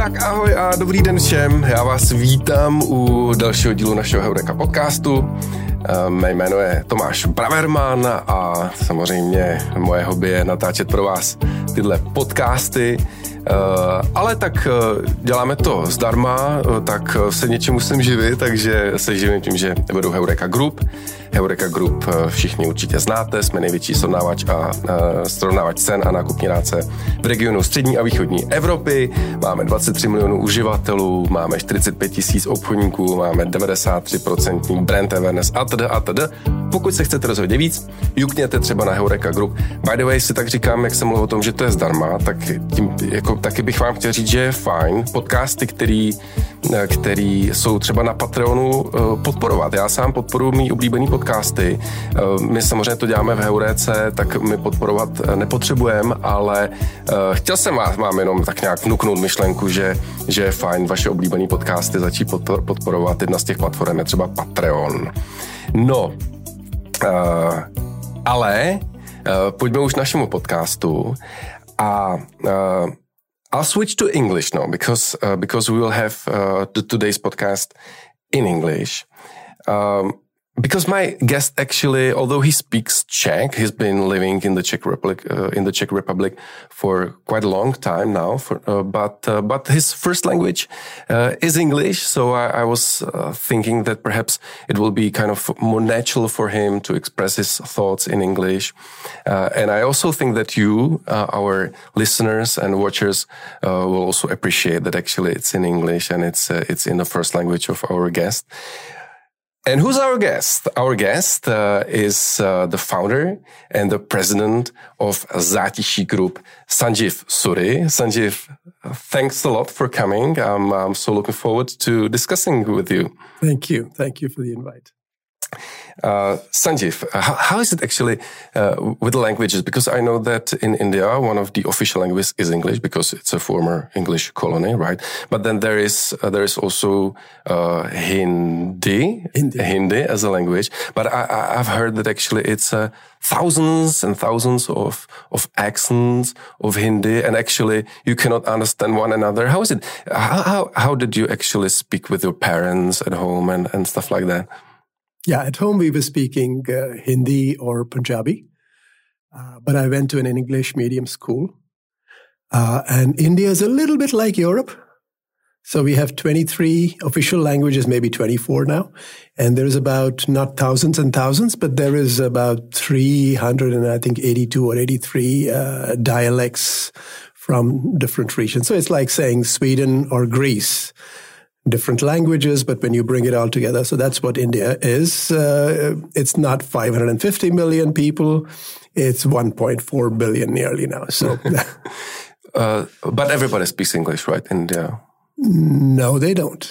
Tak ahoj a dobrý den všem. Já vás vítám u dalšího dílu našeho Heureka podcastu. Mé jméno je Tomáš Braverman a samozřejmě moje hobby je natáčet pro vás tyhle podcasty. Ale tak děláme to zdarma, tak se něčím musím živit, takže se živím tím, že vedu Heureka Group. Heureka Group všichni určitě znáte, jsme největší srovnávač cen a nákupní rádce v regionu střední a východní Evropy. Máme 23 milionů uživatelů, máme 45 000 obchodníků, máme 93% brand awareness atd. Pokud se chcete dozvědět víc, jukněte třeba na Heureka Group. By the way, si tak říkám, jak jsem mluvil o tom, že to je zdarma, tak tím, taky bych vám chtěl říct, že je fajn podcasty, který jsou třeba na Patreonu podporovat. Já sám podporuji mý oblíbený podcasty. My samozřejmě to děláme v Heurece, tak my podporovat nepotřebujeme, ale chtěl jsem vám jenom tak nějak vnuknout myšlenku, že je fajn vaše oblíbený podcasty začít podporovat. Jedna z těch platform je třeba Patreon. No, ale pojďme už k našemu podcastu a I'll switch to English now because we will have today's podcast in English. Because my guest actually, although he speaks Czech, he's been living in the Czech Republic for quite a long time now. But his first language is English, so I was thinking that perhaps it will be kind of more natural for him to express his thoughts in English. And I also think that you, our listeners and watchers, will also appreciate that actually it's in English and it's in the first language of our guest. And who's our guest? Our guest is the founder and the president of Zátiší Group, Sanjeev Suri. Sanjeev, thanks a lot for coming. I'm so looking forward to discussing with you. Thank you. Thank you for the invite. Sanjeev, how is it actually with the languages? Because I know that in India, one of the official languages is English because it's a former English colony, right? But then there is also Hindi as a language. But I've heard that actually it's thousands and thousands of accents of Hindi, and actually you cannot understand one another. How is it? How did you actually speak with your parents at home and stuff like that? Yeah, at home we were speaking Hindi or Punjabi, but I went to an English medium school. And India is a little bit like Europe. So we have 23 official languages, maybe 24 now. And there's about, not thousands and thousands, but there is about 300 and I think 82 or 83 dialects from different regions. So it's like saying Sweden or Greece. Different languages, but when you bring it all together, so that's what India is. It's not 550 million people. It's 1.4 billion nearly now. So, but everybody speaks English, right, in India? No, they don't.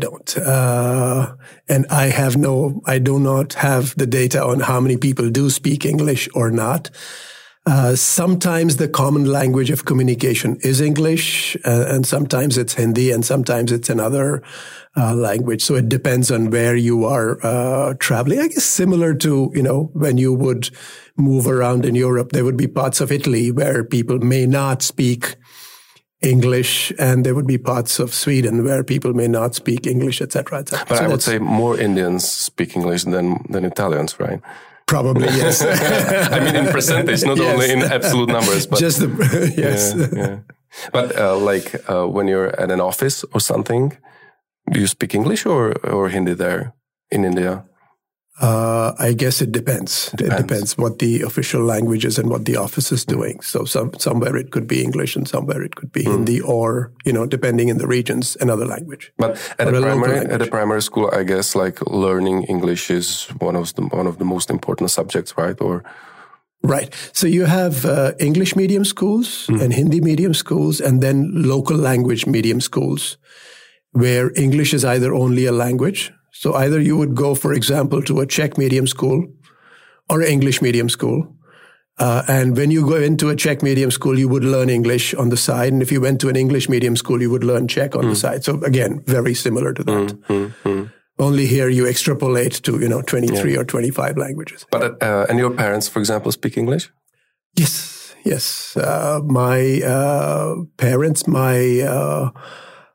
And I do not have the data on how many people do speak English or not. Sometimes the common language of communication is English, and sometimes it's Hindi, and sometimes it's another language. So it depends on where you are traveling. I guess similar to, when you would move around in Europe, there would be parts of Italy where people may not speak English, and there would be parts of Sweden where people may not speak English, etc., etc. But so I would say more Indians speak English than Italians, right? Probably, yes. I mean, in percentage, not only in absolute numbers, but just yes. Yeah. But when you're at an office or something, do you speak English or Hindi there in India? I guess it depends. It depends what the official language is and what the office is doing. So somewhere it could be English and somewhere it could be Hindi or, depending in the regions, another language. But at a primary school, I guess learning English is one of the most important subjects, right? Right. So you have English medium schools and Hindi medium schools and then local language medium schools where English is either only a language. So either you would go, for example, to a Czech medium school or an English medium school. And when you go into a Czech medium school, you would learn English on the side. And if you went to an English medium school, you would learn Czech on the side. So again, very similar to that. Only here you extrapolate to, 23 or 25 languages. But and your parents, for example, speak English? Yes. My parents, my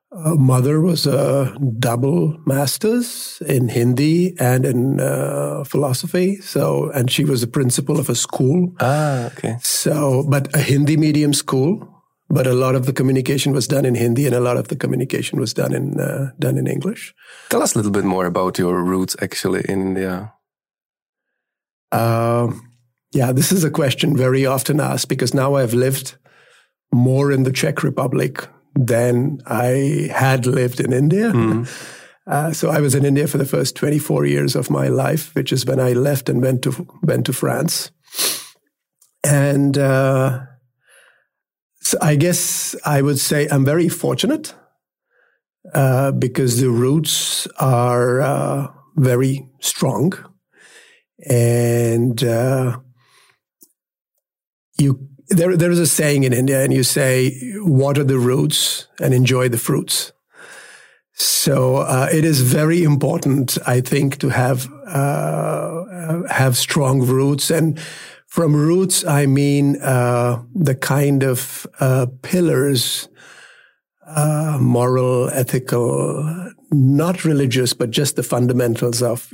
mother was a double master's in Hindi and in philosophy. And she was the principal of a school. Okay. But a Hindi medium school. But a lot of the communication was done in Hindi, and a lot of the communication was done in English. Tell us a little bit more about your roots, actually, in India. This is a question very often asked, because now I've lived more in the Czech Republic than I had lived in India. Mm-hmm. So I was in India for the first 24 years of my life, which is when I left and went to France. And so I guess I would say I'm very fortunate because the roots are very strong. And there is a saying in India, and you say, water the roots and enjoy the fruits. So it is very important, I think, to have strong roots. And from roots, I mean the kind of pillars, moral, ethical, not religious, but just the fundamentals of,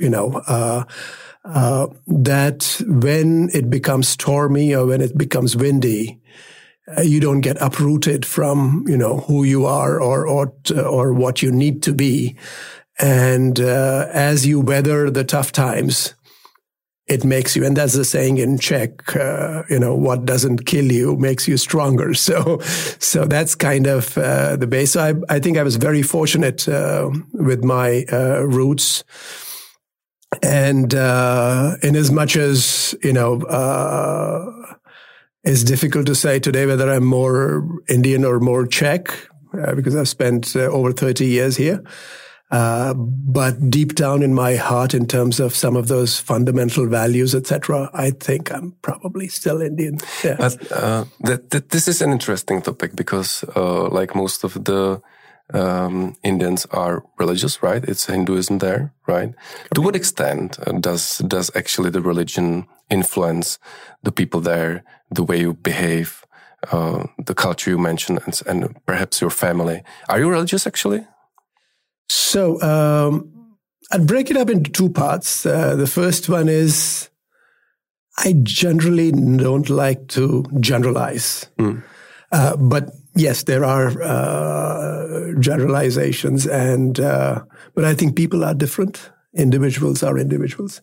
that when it becomes stormy or when it becomes windy, you don't get uprooted from, who you are or what you need to be. And as you weather the tough times, it makes you, and that's the saying in Czech, what doesn't kill you makes you stronger. So that's kind of the base. So I think I was very fortunate with my roots. And in as much as, it's difficult to say today whether I'm more Indian or more Czech, because I've spent over 30 years here. But deep down in my heart, in terms of some of those fundamental values, etc., I think I'm probably still Indian. Yeah. But this is an interesting topic because, like most of the Indians are religious, right? It's Hinduism there, right? To what extent does actually the religion influence the people there, the way you behave, the culture you mentioned, and perhaps your family? Are you religious actually? So I'd break it up into two parts. The first one is I generally don't like to generalize. But yes, there are generalizations, but I think people are different. Individuals are individuals.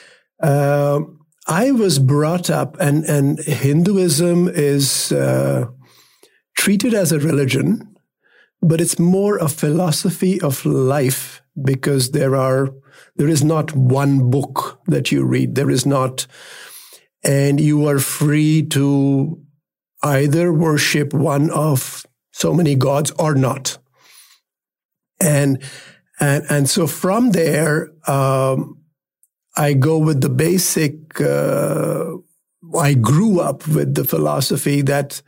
I was brought up, and Hinduism is treated as a religion, but it's more a philosophy of life, because there is not one book that you read. There is not, and you are free to either worship one of so many gods or not. And so from there, I go with the basic, I grew up with the philosophy that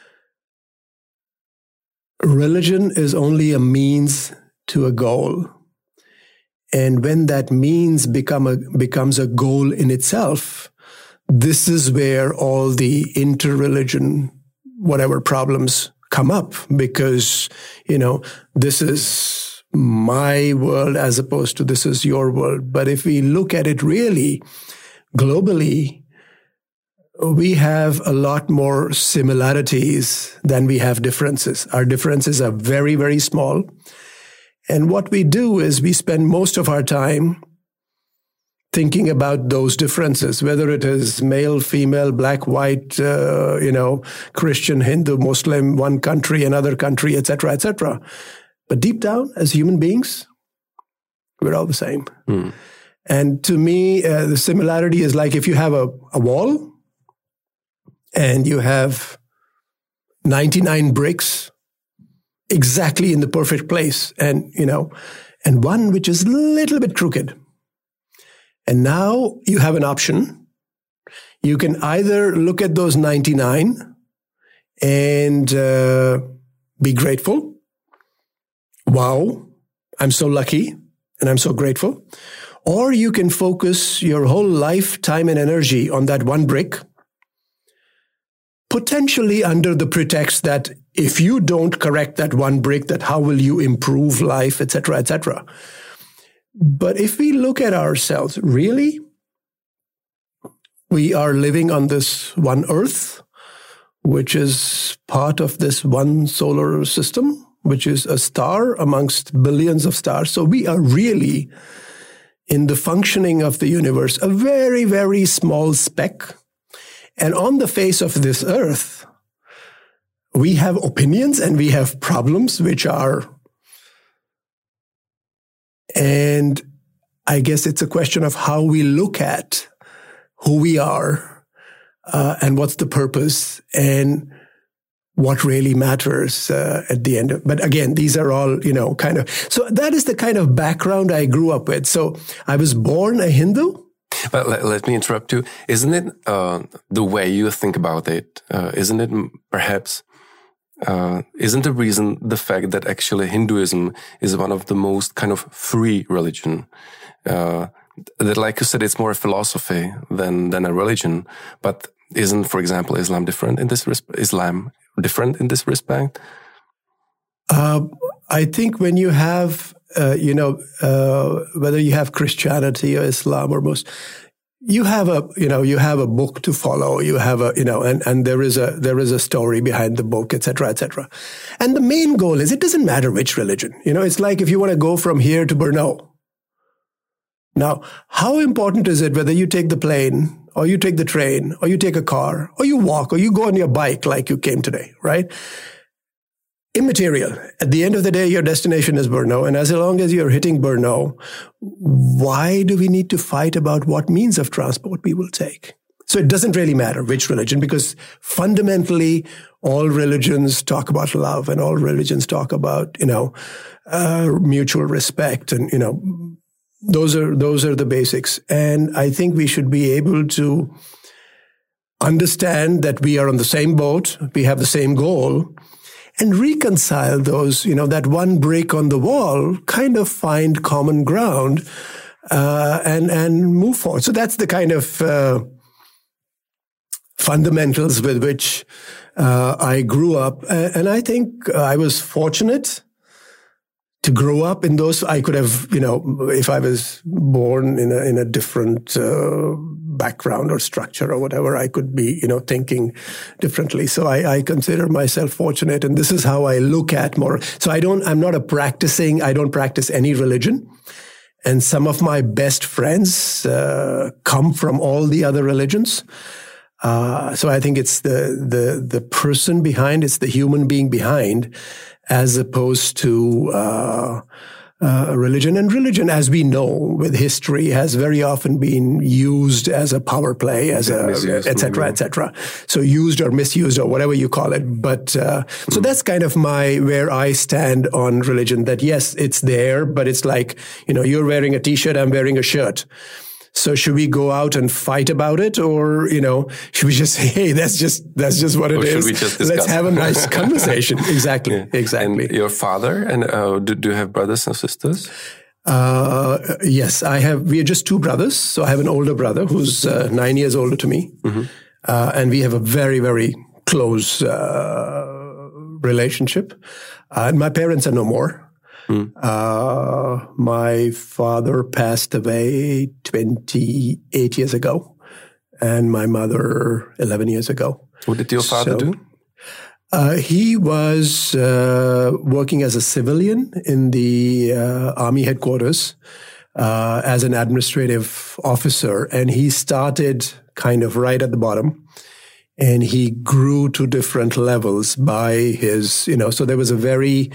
religion is only a means to a goal. And when that means becomes a goal in itself, this is where all the inter-religion, whatever problems come up, because, this is my world as opposed to this is your world. But if we look at it really globally, we have a lot more similarities than we have differences. Our differences are very, very small. And what we do is we spend most of our time thinking about those differences, whether it is male, female, black, white, Christian, Hindu, Muslim, one country, another country, etc., etc. But deep down, as human beings, we're all the same. And to me, the similarity is like if you have a wall and you have 99 bricks exactly in the perfect place, and one which is a little bit crooked. And now you have an option. You can either look at those 99 and be grateful. Wow, I'm so lucky and I'm so grateful. Or you can focus your whole life, time, and energy on that one brick, potentially under the pretext that if you don't correct that one brick, that how will you improve life, etc., etc. But if we look at ourselves, really, we are living on this one earth, which is part of this one solar system, which is a star amongst billions of stars. So we are really, in the functioning of the universe, a very, very small speck. And on the face of this earth, we have opinions and we have problems which are, and I guess it's a question of how we look at who we are, and what's the purpose and what really matters at the end. But again, these are all, kind of, so that is the kind of background I grew up with. So I was born a Hindu. But let me interrupt you. Isn't it the way you think about it? Isn't it perhaps, isn't the reason the fact that actually Hinduism is one of the most kind of free religion? That, like you said, it's more a philosophy than a religion. But isn't, for example, Islam different in this respect? I think when you have, whether you have Christianity or Islam or most, you have a book to follow. You have and there is a story behind the book, etc., etc. And the main goal is, it doesn't matter which religion. It's like if you want to go from here to Brno. Now, how important is it whether you take the plane or you take the train or you take a car or you walk or you go on your bike like you came today, right? Immaterial. At the end of the day, your destination is Brno. And as long as you're hitting Brno, why do we need to fight about what means of transport we will take? So it doesn't really matter which religion, because fundamentally all religions talk about love and all religions talk about, mutual respect and, those are the basics. And I think we should be able to understand that we are on the same boat, we have the same goal, and reconcile those, that one break on the wall, kind of find common ground, and move forward. So that's the kind of fundamentals with which I grew up. And I think I was fortunate to grow up in those. I could have, if I was born in a different background or structure or whatever, I could be, thinking differently. So I consider myself fortunate, and this is how I look at more. So I don't practice any religion. And some of my best friends come from all the other religions. So I think it's the person behind, it's the human being behind, as opposed to religion. And religion, as we know with history, has very often been used as a power play, as et cetera, et cetera. So used or misused or whatever you call it. But so that's kind of where I stand on religion, that yes, it's there, but it's like, you're wearing a T-shirt, I'm wearing a shirt. So should we go out and fight about it, or should we just say, "Hey, that's just what it is"? Should we just discuss? Let's have a nice conversation. Exactly, yeah. Exactly. And your father, and do you have brothers and sisters? Yes, I have. We are just two brothers. So I have an older brother who's 9 years older to me, and we have a very, very close relationship. And my parents are no more. My father passed away 28 years ago, and my mother 11 years ago. What did your father do? He was working as a civilian in the Army headquarters as an administrative officer, and he started kind of right at the bottom. And he grew to different levels by his, so there was a very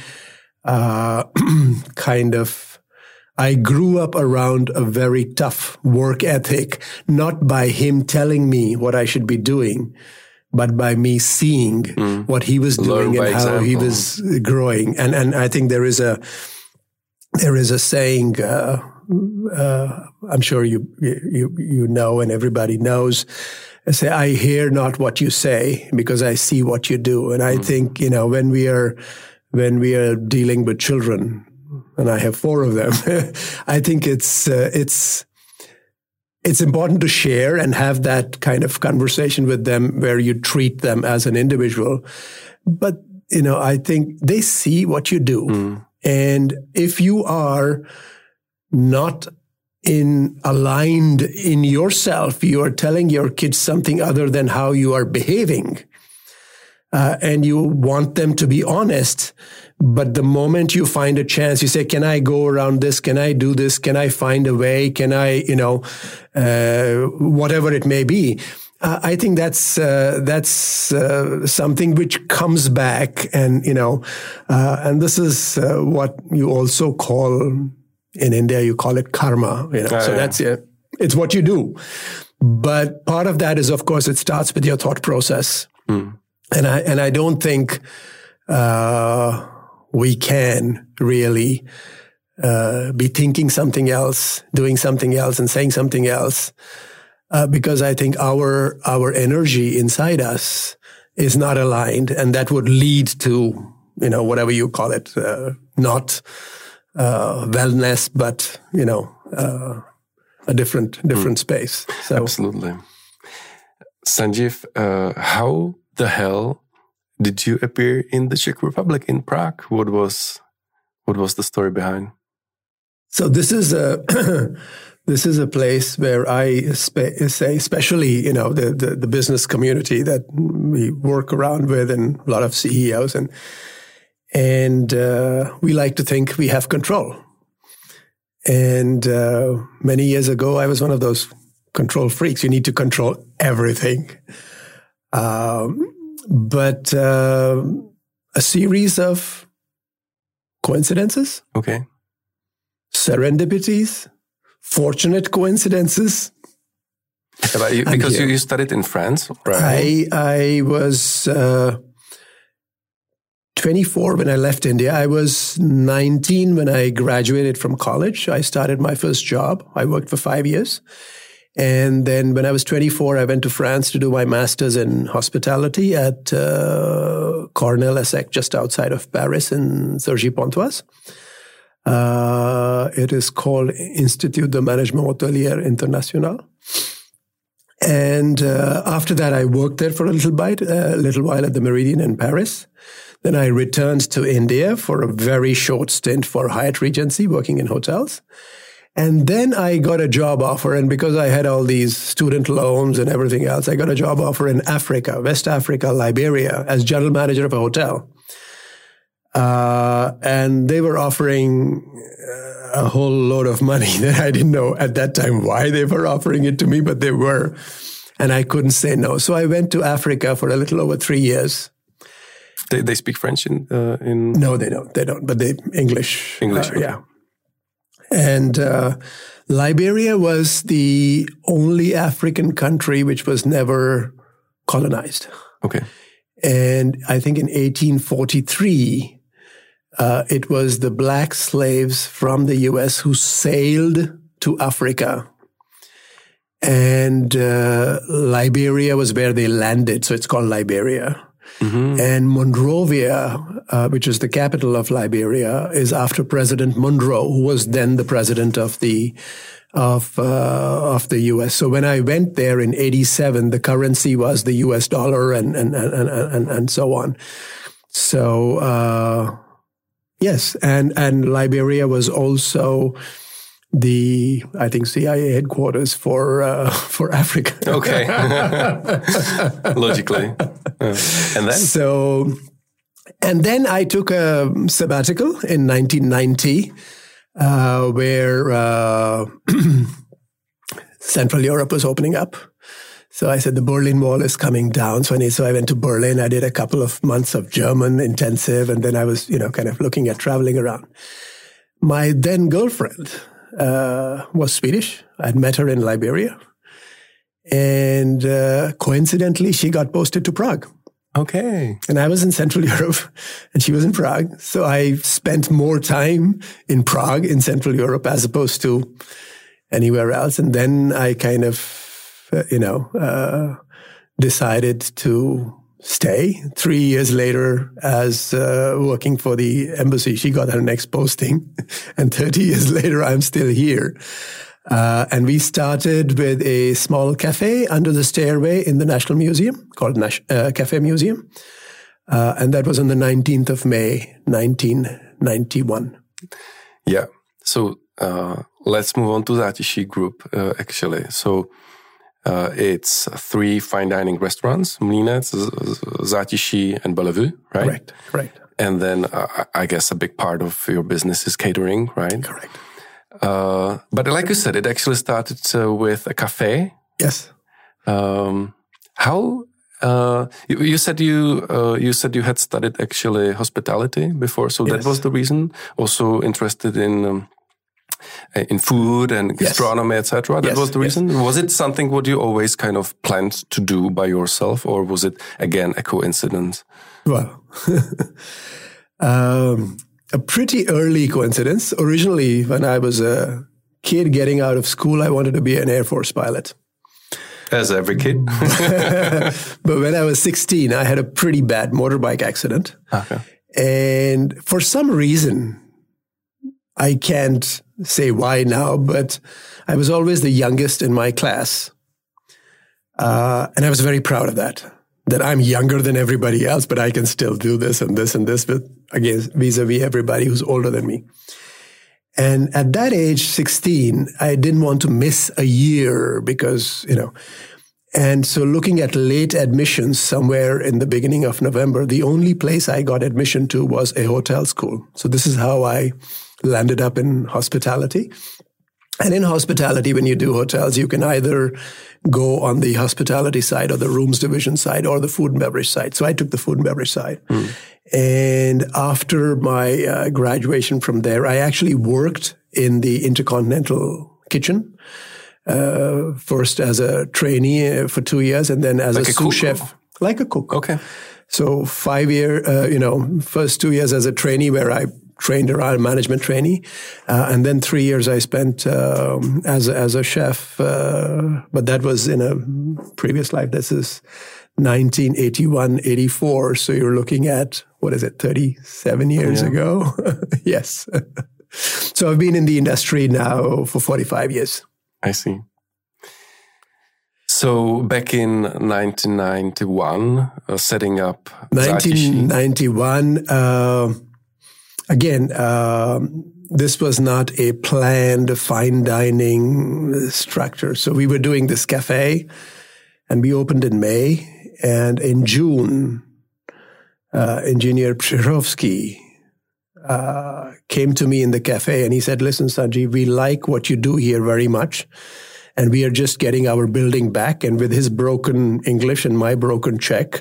I grew up around a very tough work ethic, not by him telling me what I should be doing, but by me seeing what he was doing and how he was growing. And I think there is a saying, I'm sure you know, and everybody knows, I say, I hear not what you say because I see what you do. And I think, when we are dealing with children, and I have 4 of them, I think it's it's important to share and have that kind of conversation with them where you treat them as an individual. But, I think they see what you do. And if you are not aligned in yourself, you are telling your kids something other than how you are behaving, and you want them to be honest. But the moment you find a chance, you say, can I go around this? Can I do this? Can I find a way? Can I, whatever it may be. I think that's something which comes back, and and this is what you also call in India. You call it karma. That's it. It's what you do. But part of that is, of course, it starts with your thought process, and I don't think we can really be thinking something else, doing something else, and saying something else. Because I think our energy inside us is not aligned, and that would lead to, whatever you call it, not wellness, but, a different space. So. Absolutely. Sanjeev, how the hell did you appear in the Czech Republic, in Prague? What was the story behind? So this is a place where I say, especially, the business community that we work around with, and a lot of CEOs, and we like to think we have control. And many years ago, I was one of those control freaks. You need to control everything. But a series of coincidences. Okay. Serendipities. Fortunate coincidences. Because you studied in France, right? I was 24 when I left India. I was 19 when I graduated from college. I started my first job. I worked for 5 years. And then when I was 24, I went to France to do my master's in hospitality at Cornell ESSEC, just outside of Paris in Cergy-Pontoise. It is called Institut de Management Hôtelier International. And after that, I worked there for a little while at the Meridian in Paris. Then I returned to India for a very short stint for Hyatt Regency, working in hotels. And then I got a job offer. And because I had all these student loans and everything else, I got a job offer in Africa, West Africa, Liberia, as general manager of a hotel. And they were offering a whole load of money that I didn't know at that time why they were offering it to me, but they were. And I couldn't say no. So I went to Africa for a little over 3 years. They speak French in? No, they don't. They don't. But they English. Okay. Yeah. And Liberia was the only African country which was never colonized. Okay. And I think in 1843, it was the black slaves from the U.S. who sailed to Africa. And Liberia was where they landed, so it's called Liberia. Mm-hmm. And Monrovia, which is the capital of Liberia, is after President Monroe, who was then the president of the U.S. So when I went there in 1987, the currency was the U.S. dollar and so on. So yes, and Liberia was also the, I think, CIA headquarters for Africa. Okay, logically. And then I took a sabbatical in 1990, where Central Europe was opening up. So I said, the Berlin Wall is coming down. So I went to Berlin. I did a couple of months of German intensive, and then I was, kind of looking at traveling around. My then girlfriend was Swedish. I'd met her in Liberia. And coincidentally, she got posted to Prague. Okay. And I was in Central Europe and she was in Prague. So I spent more time in Prague in Central Europe as opposed to anywhere else. And then I kind of, decided to stay. 3 years later, as working for the embassy, she got her next posting. And 30 years later, I'm still here. And we started with a small cafe under the stairway in the National Museum called Cafe Museum. And that was on the 19th of May, 1991. Yeah. So let's move on to Zátiší Group, actually. So it's 3 fine dining restaurants, Mlýnec, Zátiší, and Bellevue, right? Correct. And then I guess a big part of your business is catering, right? Correct. But like you said, it actually started with a cafe. Yes. How you said you had studied actually hospitality before, so that was the reason. Also interested in food and gastronomy, etc. That was the reason. Was it something what you always kind of planned to do by yourself, or was it again a coincidence? Well, a pretty early coincidence. Originally, when I was a kid getting out of school, I wanted to be an Air Force pilot. As every kid. But when I was 16, I had a pretty bad motorbike accident. Okay. And for some reason, I can't say why now, but I was always the youngest in my class. And I was very proud of that I'm younger than everybody else, but I can still do this and this and this, but again, vis-a-vis everybody who's older than me. And at that age, 16, I didn't want to miss a year because, and so looking at late admissions somewhere in the beginning of November, the only place I got admission to was a hotel school. So this is how I landed up in hospitality. And in hospitality, when you do hotels, you can either go on the hospitality side or the rooms division side or the food and beverage side. So I took the food and beverage side. And after my graduation from there, I actually worked in the Intercontinental kitchen. First as a trainee for 2 years and then as a sous chef. Like a cook. Okay. So 5 year, first 2 years as a trainee where I trained around management trainee. And then 3 years I spent as a chef. But that was in a previous life. This is 1981, 84. So you're looking at, 37 years ago? Yes. So I've been in the industry now for 45 years. I see. So back in 1991, setting up 1991, again, this was not a planned fine dining structure. So we were doing this cafe and we opened in May. And in June, Engineer Przyrovsky came to me in the cafe and he said, listen, Sanjeev, we like what you do here very much. And we are just getting our building back. And with his broken English and my broken Czech,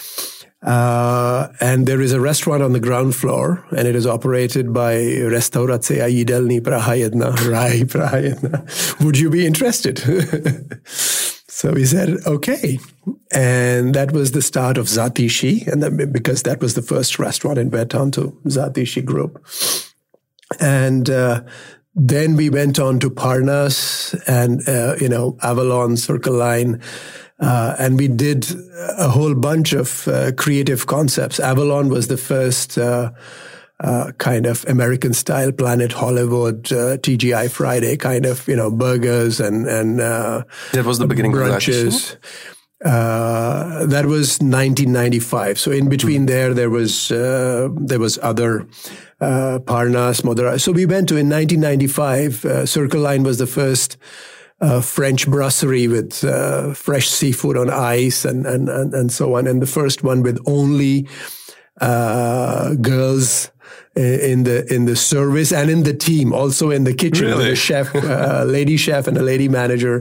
and there is a restaurant on the ground floor, and it is operated by Restaurace a jídelny Praha 1, Raj Praha 1. Would you be interested? So he said, okay. And that was the start of Zátiší, and that, because that was the first restaurant in Béthune to Zátiší Group. And then we went on to Parnas and, Avalon, Circle Line. And we did a whole bunch of creative concepts. Avalon was the first kind of American-style Planet Hollywood, TGI Friday kind of, burgers and that was the beginning brunches. That was 1995. So in between there was other Parnas, Modera. So we went to, in 1995, Circle Line was the first French brasserie with fresh seafood on ice and so on. And the first one with only girls in the service and in the team, also in the kitchen. Really? The chef, lady chef and a lady manager.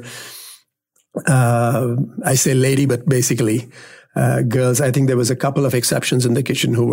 I say lady, but basically girls. I think there was a couple of exceptions in the kitchen who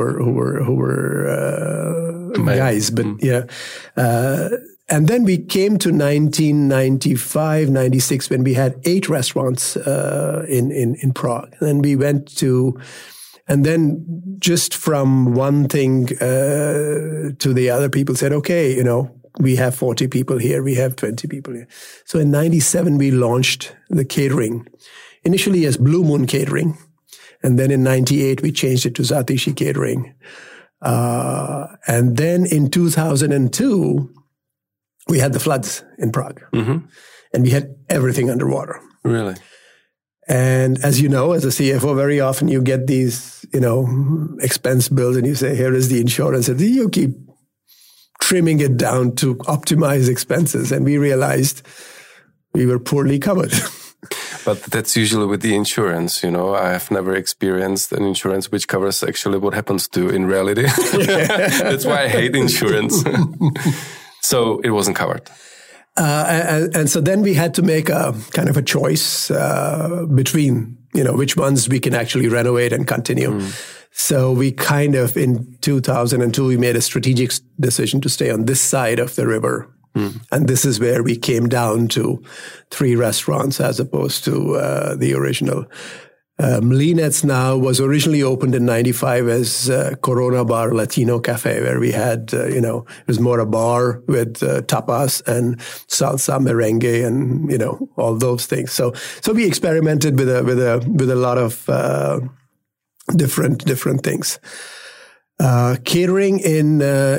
were guys, but yeah. And then we came to 1995, 96, when we had 8 restaurants in Prague. And we went to, and then just from one thing to the other, people said, okay, we have 40 people here, we have 20 people here. So in 97, we launched the catering, initially as Blue Moon Catering. And then in 98, we changed it to Zátiší Catering. And then in 2002, we had the floods in Prague. Mm-hmm. And we had everything underwater. Really? And as you know, as a CFO, very often you get these, expense bills and you say, here is the insurance. And you keep trimming it down to optimize expenses. And we realized we were poorly covered. But that's usually with the insurance, I have never experienced an insurance which covers actually what happens to in reality. That's why I hate insurance. So it wasn't covered. And so then we had to make a kind of a choice between, which ones we can actually renovate and continue. So we kind of, in 2002, we made a strategic decision to stay on this side of the river. And this is where we came down to 3 restaurants as opposed to the original. Mlínec now was originally opened in 95 as Corona Bar Latino Cafe, where we had, it was more a bar with tapas and salsa, merengue, and, all those things. So we experimented with a lot of different things. Catering in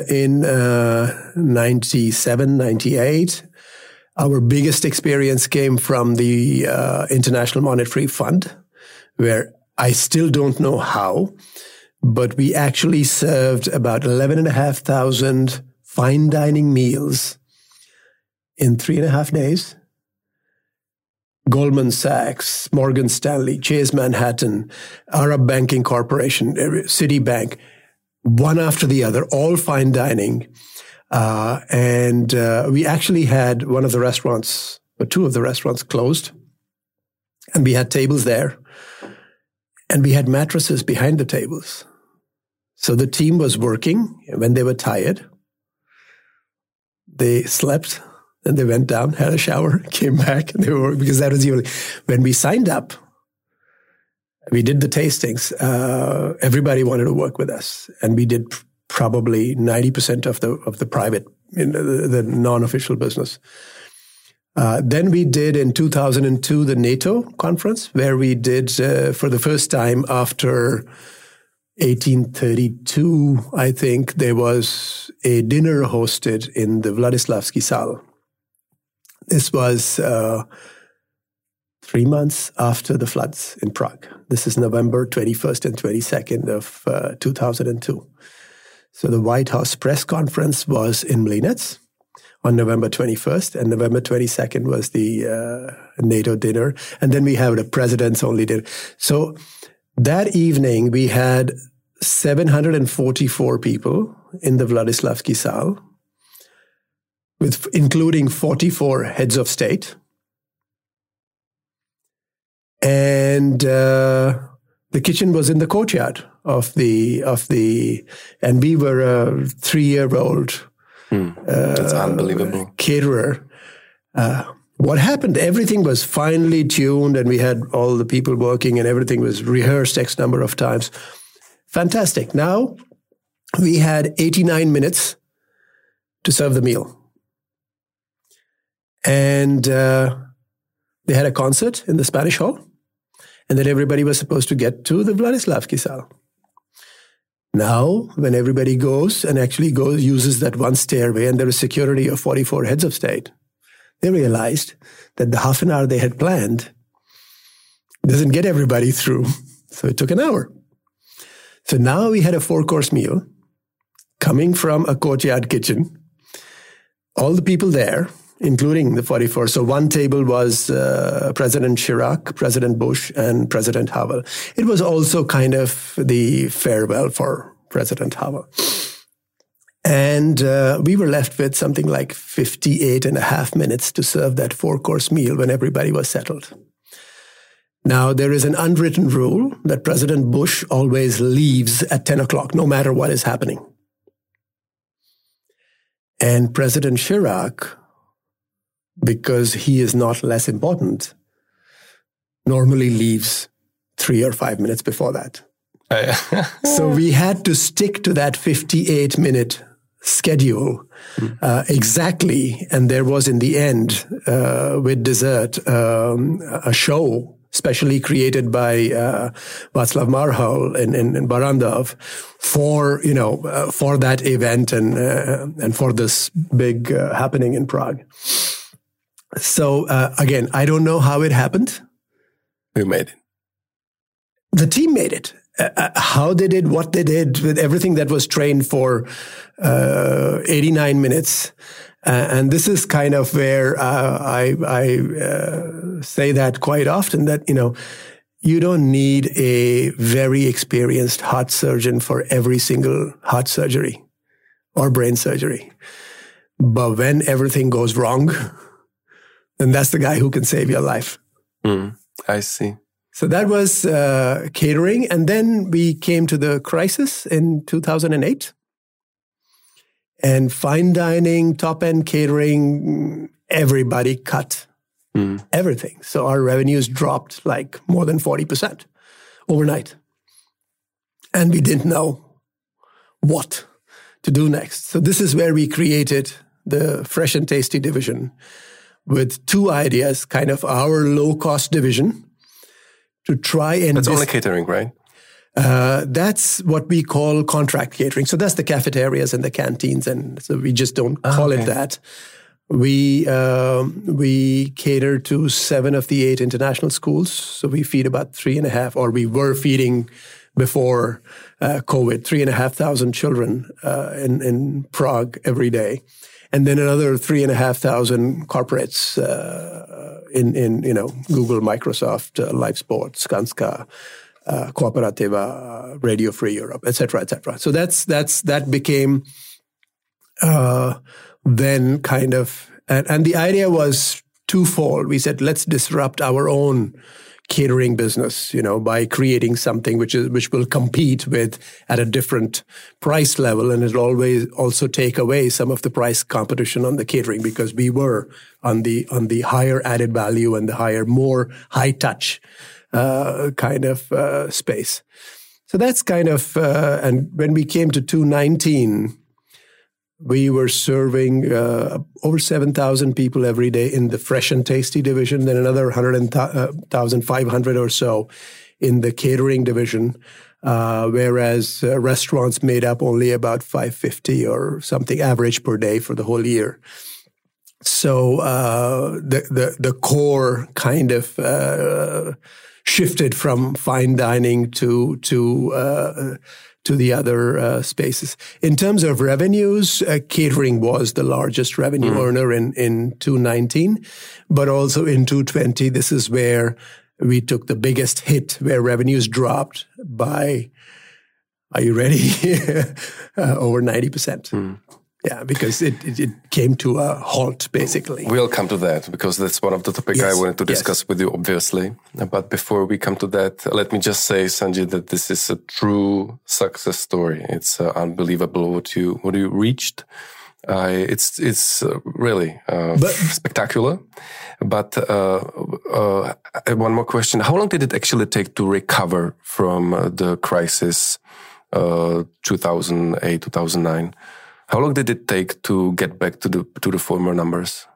97, 98, our biggest experience came from the International Monetary Fund, where I still don't know how, but we actually served about 11,500 fine dining meals in 3.5 days. Goldman Sachs, Morgan Stanley, Chase Manhattan, Arab Banking Corporation, Citibank, one after the other, all fine dining. And we actually had one of the restaurants, or 2 of the restaurants closed. And we had tables there. And we had mattresses behind the tables. So the team was working. When they were tired, they slept. Then they went down, had a shower, came back. And they were, because that was usually, when we signed up, we did the tastings. Everybody wanted to work with us. And we did probably 90% of the private, the non-official business. Then we did in 2002 the NATO conference, where we did for the first time after 1832, I think, there was a dinner hosted in the Vladislavsky Sal. This was 3 months after the floods in Prague. This is November 21st and 22nd of 2002. So the White House press conference was in Mlínec on November 21st, and November 22nd was the NATO dinner. And then we have the president's only dinner. So that evening, we had 744 people in the Vladislavsky Sal, including 44 heads of state. And the kitchen was in the courtyard of the, and we were a 3-year-old that's unbelievable. Caterer. What happened? Everything was finely tuned, and we had all the people working, and everything was rehearsed X number of times. Fantastic. Now we had 89 minutes to serve the meal. And they had a concert in the Spanish Hall, and then everybody was supposed to get to the Vladislavsky Sal. Now, when everybody goes and actually uses that one stairway, and there is security of 44 heads of state, they realized that the half an hour they had planned doesn't get everybody through. So it took an hour. So now we had a 4-course meal coming from a courtyard kitchen. All the people there, including the 44. So one table was President Chirac, President Bush, and President Havel. It was also kind of the farewell for President Havel. And we were left with something like 58.5 minutes to serve that 4-course meal when everybody was settled. Now, there is an unwritten rule that President Bush always leaves at 10 o'clock, no matter what is happening. And President Chirac, because he is not less important, normally leaves 3 or 5 minutes before that. So we had to stick to that 58-minute schedule exactly. And there was, in the end, with dessert, a show specially created by Václav Marhal in Barandov for that event and for this big happening in Prague. So again, I don't know how it happened. Who made it? The team made it. How they did, what they did, with everything that was trained for 89 minutes. And this is kind of where I say that quite often, that, you don't need a very experienced heart surgeon for every single heart surgery or brain surgery. But when everything goes wrong, then that's the guy who can save your life. I see. So that was catering. And then we came to the crisis in 2008. And fine dining, top-end catering, everybody cut everything. So our revenues dropped like more than 40% overnight. And we didn't know what to do next. So this is where we created the Fresh and Tasty division with two ideas, kind of our low-cost division to try and... That's only catering, right? That's what we call contract catering. So that's the cafeterias and the canteens, and so we just don't call it that. We cater to 7 of the 8 international schools. So we feed about 3.5, or we were feeding before COVID, 3,500 children in Prague every day, and then another 3,500 corporates in Google, Microsoft, Live Sports, Skanska, Cooperativa, Radio Free Europe, etc., etc. So that became then kind of, and the idea was twofold. We said, let's disrupt our own catering business, by creating something which will compete with at a different price level, and it'll always also take away some of the price competition on the catering, because we were on the higher added value and the more high touch kind of space. So that's kind of, and when we came to 2019, we were serving over 7,000 people every day in the Fresh and Tasty division, then another 1,500 or so in the catering division, whereas restaurants made up only about 550 or something average per day for the whole year. So the core kind of shifted from fine dining to the other spaces. In terms of revenues, catering was the largest revenue earner in 2019, but also in 2020, this is where we took the biggest hit, where revenues dropped by, are you ready? Over 90%. Yeah, because it came to a halt, basically. We'll come to that, because that's one of the topics I wanted to discuss with you, obviously. But before we come to that, let me just say, Sanjay, that this is a true success story. It's unbelievable what you reached. It's really spectacular. But one more question. How long did it actually take to recover from the crisis 2008, 2009? How long did it take to get back to the former numbers?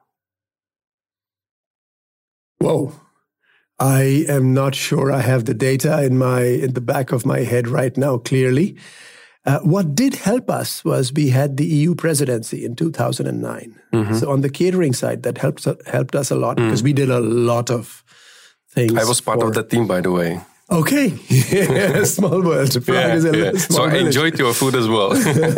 Whoa. I am not sure I have the data in the back of my head right now clearly. What did help us was we had the EU presidency in 2009. So on the catering side, that helped us a lot, because we did a lot of things. I was part of that team, by the way. Okay. Small world. Prague is a small so I enjoyed your food as well.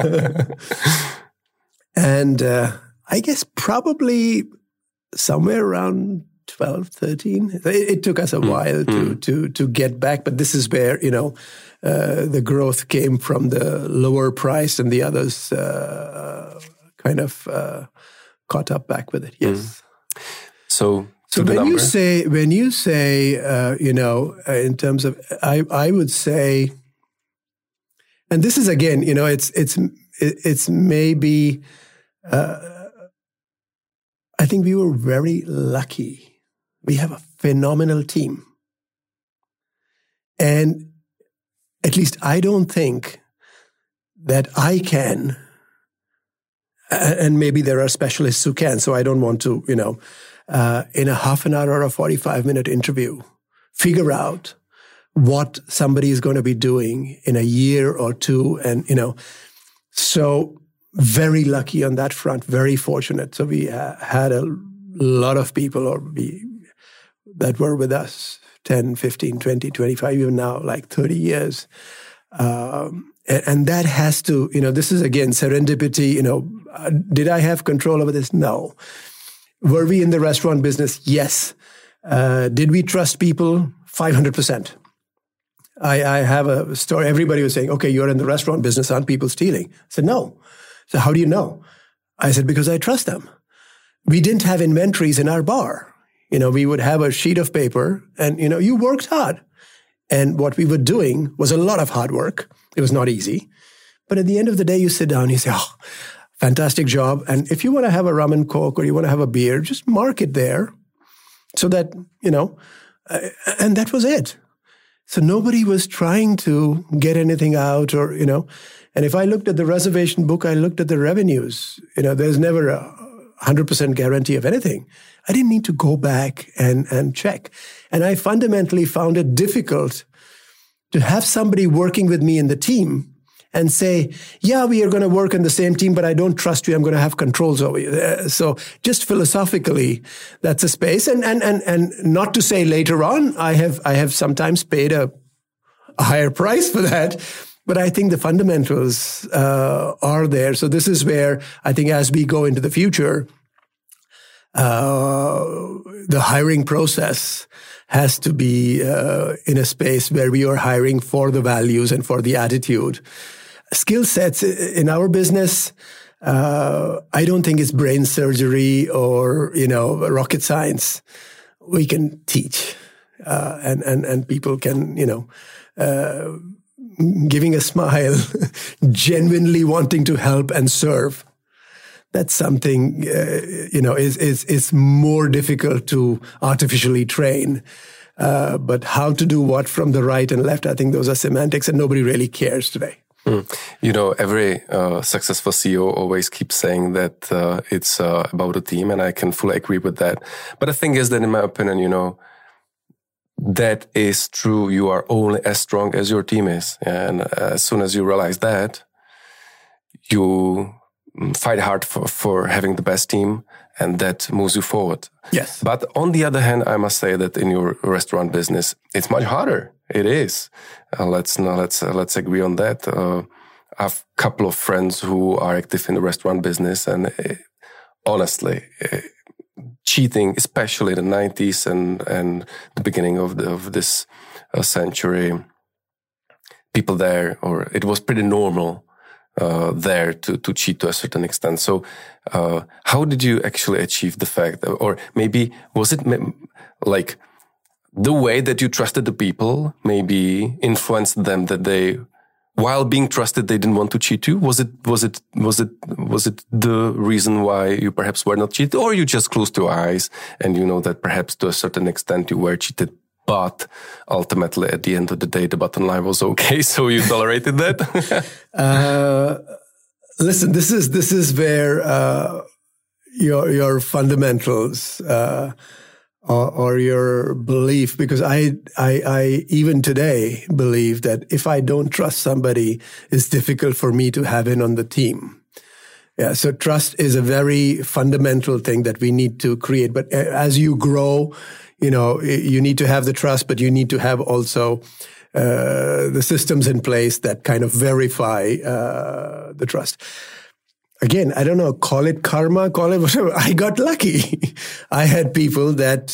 And I guess probably somewhere around 12, 13. It took us a while to get back, but this is where, the growth came from the lower price, and the others kind of caught up back with it. Yes. So when you say, in terms of, I would say, and this is again, it's maybe, I think we were very lucky. We have a phenomenal team. And at least I don't think that I can, and maybe there are specialists who can, so I don't want to, in a half an hour or a 45-minute interview, figure out what somebody is going to be doing in a year or two. And, so very lucky on that front, very fortunate. So we had a lot of people that were with us 10, 15, 20, 25, even now, like 30 years. And that has to, this is again serendipity. Did I have control over this? No. Were we in the restaurant business? Yes. Did we trust people? 500%. I have a story. Everybody was saying, okay, you're in the restaurant business. Aren't people stealing? I said, no. So how do you know? I said, because I trust them. We didn't have inventories in our bar. We would have a sheet of paper and, you worked hard. And what we were doing was a lot of hard work. It was not easy. But at the end of the day, you sit down and you say, oh, fantastic job. And if you want to have a rum and coke or you want to have a beer, just mark it there so that, and that was it. So nobody was trying to get anything out or, and if I looked at the reservation book, I looked at the revenues. There's never a 100% guarantee of anything. I didn't need to go back and check. And I fundamentally found it difficult to have somebody working with me in the team and say, yeah, we are going to work in the same team, but I don't trust you. I'm going to have controls over you. So just philosophically, that's a space. And not to say later on, I have sometimes paid a higher price for that. But I think the fundamentals are there. So this is where I think as we go into the future, the hiring process has to be in a space where we are hiring for the values and for the attitude. Skill sets in our business, I don't think it's brain surgery or, rocket science. We can teach, and people can, giving a smile, genuinely wanting to help and serve. That's something, is more difficult to artificially train. But how to do what from the right and left, I think those are semantics and nobody really cares today. Every successful CEO always keeps saying that it's about a team, and I can fully agree with that. But the thing is that, in my opinion, that is true. You are only as strong as your team is. And as soon as you realize that, you fight hard for having the best team, and that moves you forward. Yes. But on the other hand, I must say that in your restaurant business, it's much harder. It is. Let's agree on that. I have a couple of friends who are active in the restaurant business, and honestly, cheating, especially in the 90s and the beginning of this century, people there, or it was pretty normal there to cheat to a certain extent. So how did you actually achieve the fact, or maybe was it like the way that you trusted the people maybe influenced them that they, while being trusted, they didn't want to cheat you? Was it the reason why you perhaps were not cheated, or you just closed your eyes and you know that perhaps to a certain extent you were cheated, but ultimately at the end of the day the bottom line was okay, so you tolerated that? Listen, this is where your fundamentals or your belief, because I even today believe that if I don't trust somebody, it's difficult for me to have in on the team. Yeah, so trust is a very fundamental thing that we need to create. But as you grow, you need to have the trust, but you need to have also the systems in place that kind of verify the trust. Again, I don't know, call it karma, call it whatever. I got lucky. I had people that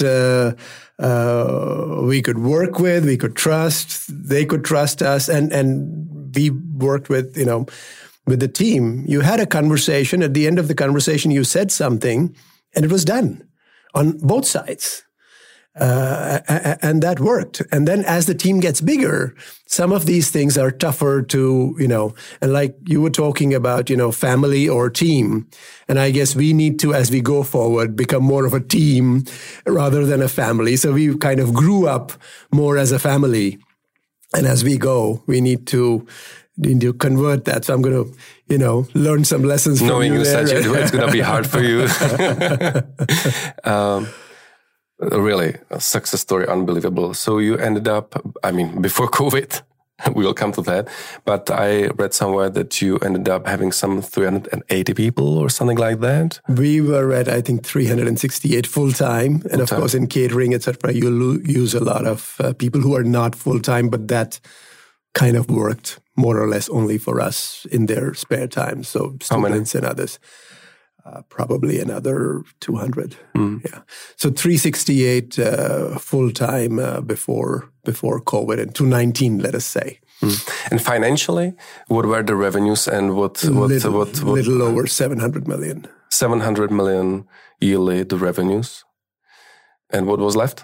we could work with, we could trust, they could trust us, and we worked with, with the team. You had a conversation. At the end of the conversation, you said something, and it was done on both sides. And that worked. And then as the team gets bigger, some of these things are tougher to, and like you were talking about, family or team. And I guess we need to, as we go forward, become more of a team rather than a family. So we kind of grew up more as a family. And as we go, we need to convert that. So I'm going to, learn some lessons from knowing you there. Knowing it's going to be hard for you. Really, a success story, unbelievable. So you ended up, before COVID, we will come to that, but I read somewhere that you ended up having some 380 people or something like that. We were at, I think, 368 full-time. And of course, in catering, etc., you use a lot of people who are not full-time, but that kind of worked more or less only for us in their spare time. So students and others. Probably another 200. Yeah. So 368 full-time before COVID, and 219, let us say. And financially, what were the revenues and what little over 700 million. 700 million yearly, the revenues. And what was left?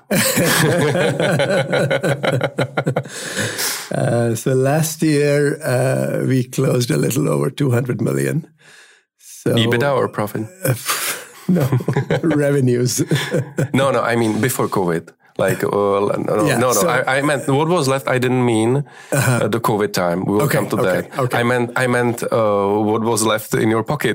So last year, we closed a little over 200 million. So, EBITDA or profit? No, revenues. No, I mean before COVID. I meant what was left. I didn't mean the COVID time. We will come to that. Okay. I meant what was left in your pocket.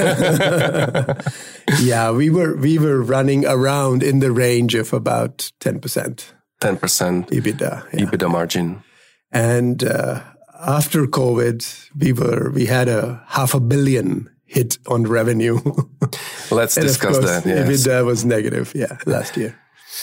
Yeah, we were running around in the range of about 10%. 10% EBITDA. Yeah. EBITDA margin. And after COVID, we had a $500 million hit on revenue. Let's discuss that. Yes. EBITDA was negative, last year.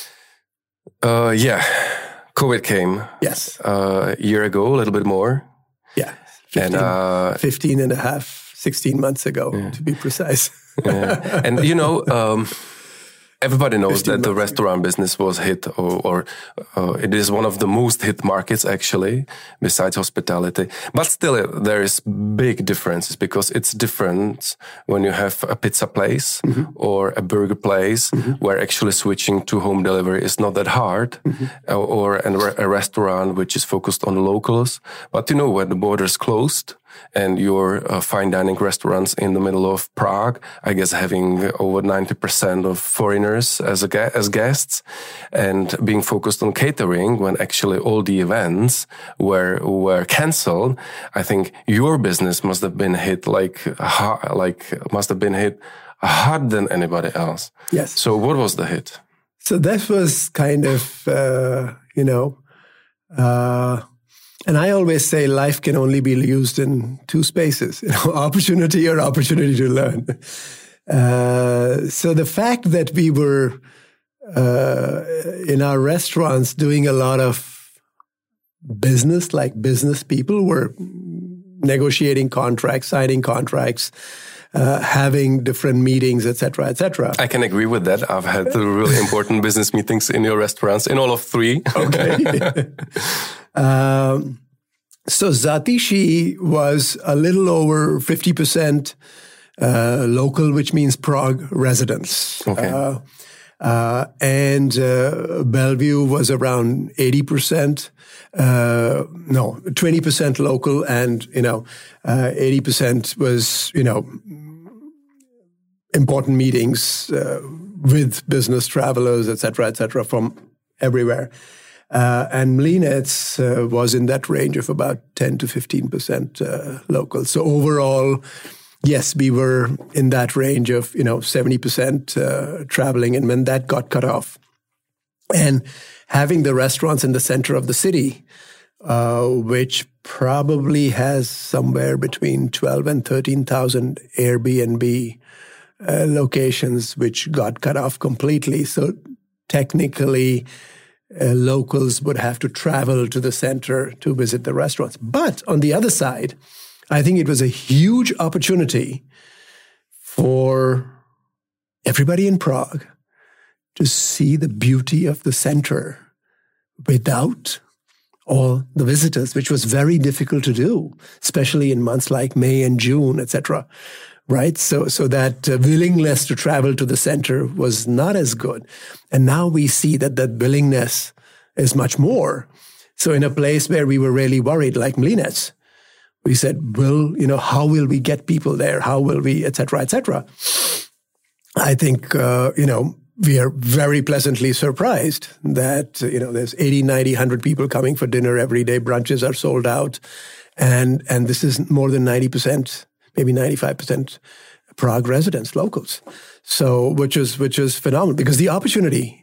COVID came. Yes. A year ago, a little bit more. Yeah. 15 and a half, 16 months ago, to be precise. Yeah. And, everybody knows that the restaurant business was hit, or it is one of the most hit markets, actually, besides hospitality. But still, there is big differences because it's different when you have a pizza place or a burger place where actually switching to home delivery is not that hard, or a restaurant which is focused on locals. But, when the borders closed, and your fine dining restaurants in the middle of Prague, I guess having over 90% of foreigners as guests, and being focused on catering when actually all the events were cancelled, I think your business must have been hit harder than anybody else. Yes. So what was the hit? So that was kind of, and I always say life can only be used in two spaces, opportunity or opportunity to learn. So the fact that we were in our restaurants doing a lot of business, like business people were negotiating contracts, signing contracts, having different meetings, etc., etc. I can agree with that. I've had really important business meetings in your restaurants, in all of three. Okay. So Zatishi was a little over 50% local, which means Prague residents. Okay. And Bellevue was around 80%. 20% local, and 80% was important meetings with business travelers, etc., from everywhere. And Mlynec was in that range of about 10 to 15% local. So overall, yes, we were in that range of 70% traveling, and when that got cut off, and having the restaurants in the center of the city, which probably has somewhere between 12 and 13,000 Airbnb locations, which got cut off completely. So technically, locals would have to travel to the center to visit the restaurants. But on the other side, I think it was a huge opportunity for everybody in Prague to see the beauty of the center without all the visitors, which was very difficult to do, especially in months like May and June, etc. Right? So that willingness to travel to the center was not as good. And now we see that willingness is much more. So in a place where we were really worried, like Mlynec, we said, how will we get people there? How will we, et cetera, et cetera? I think, we are very pleasantly surprised that, there's 80, 90, 100 people coming for dinner every day. Brunches are sold out. And this is more than 90%, maybe 95% Prague residents, locals. So, which is phenomenal, because the opportunity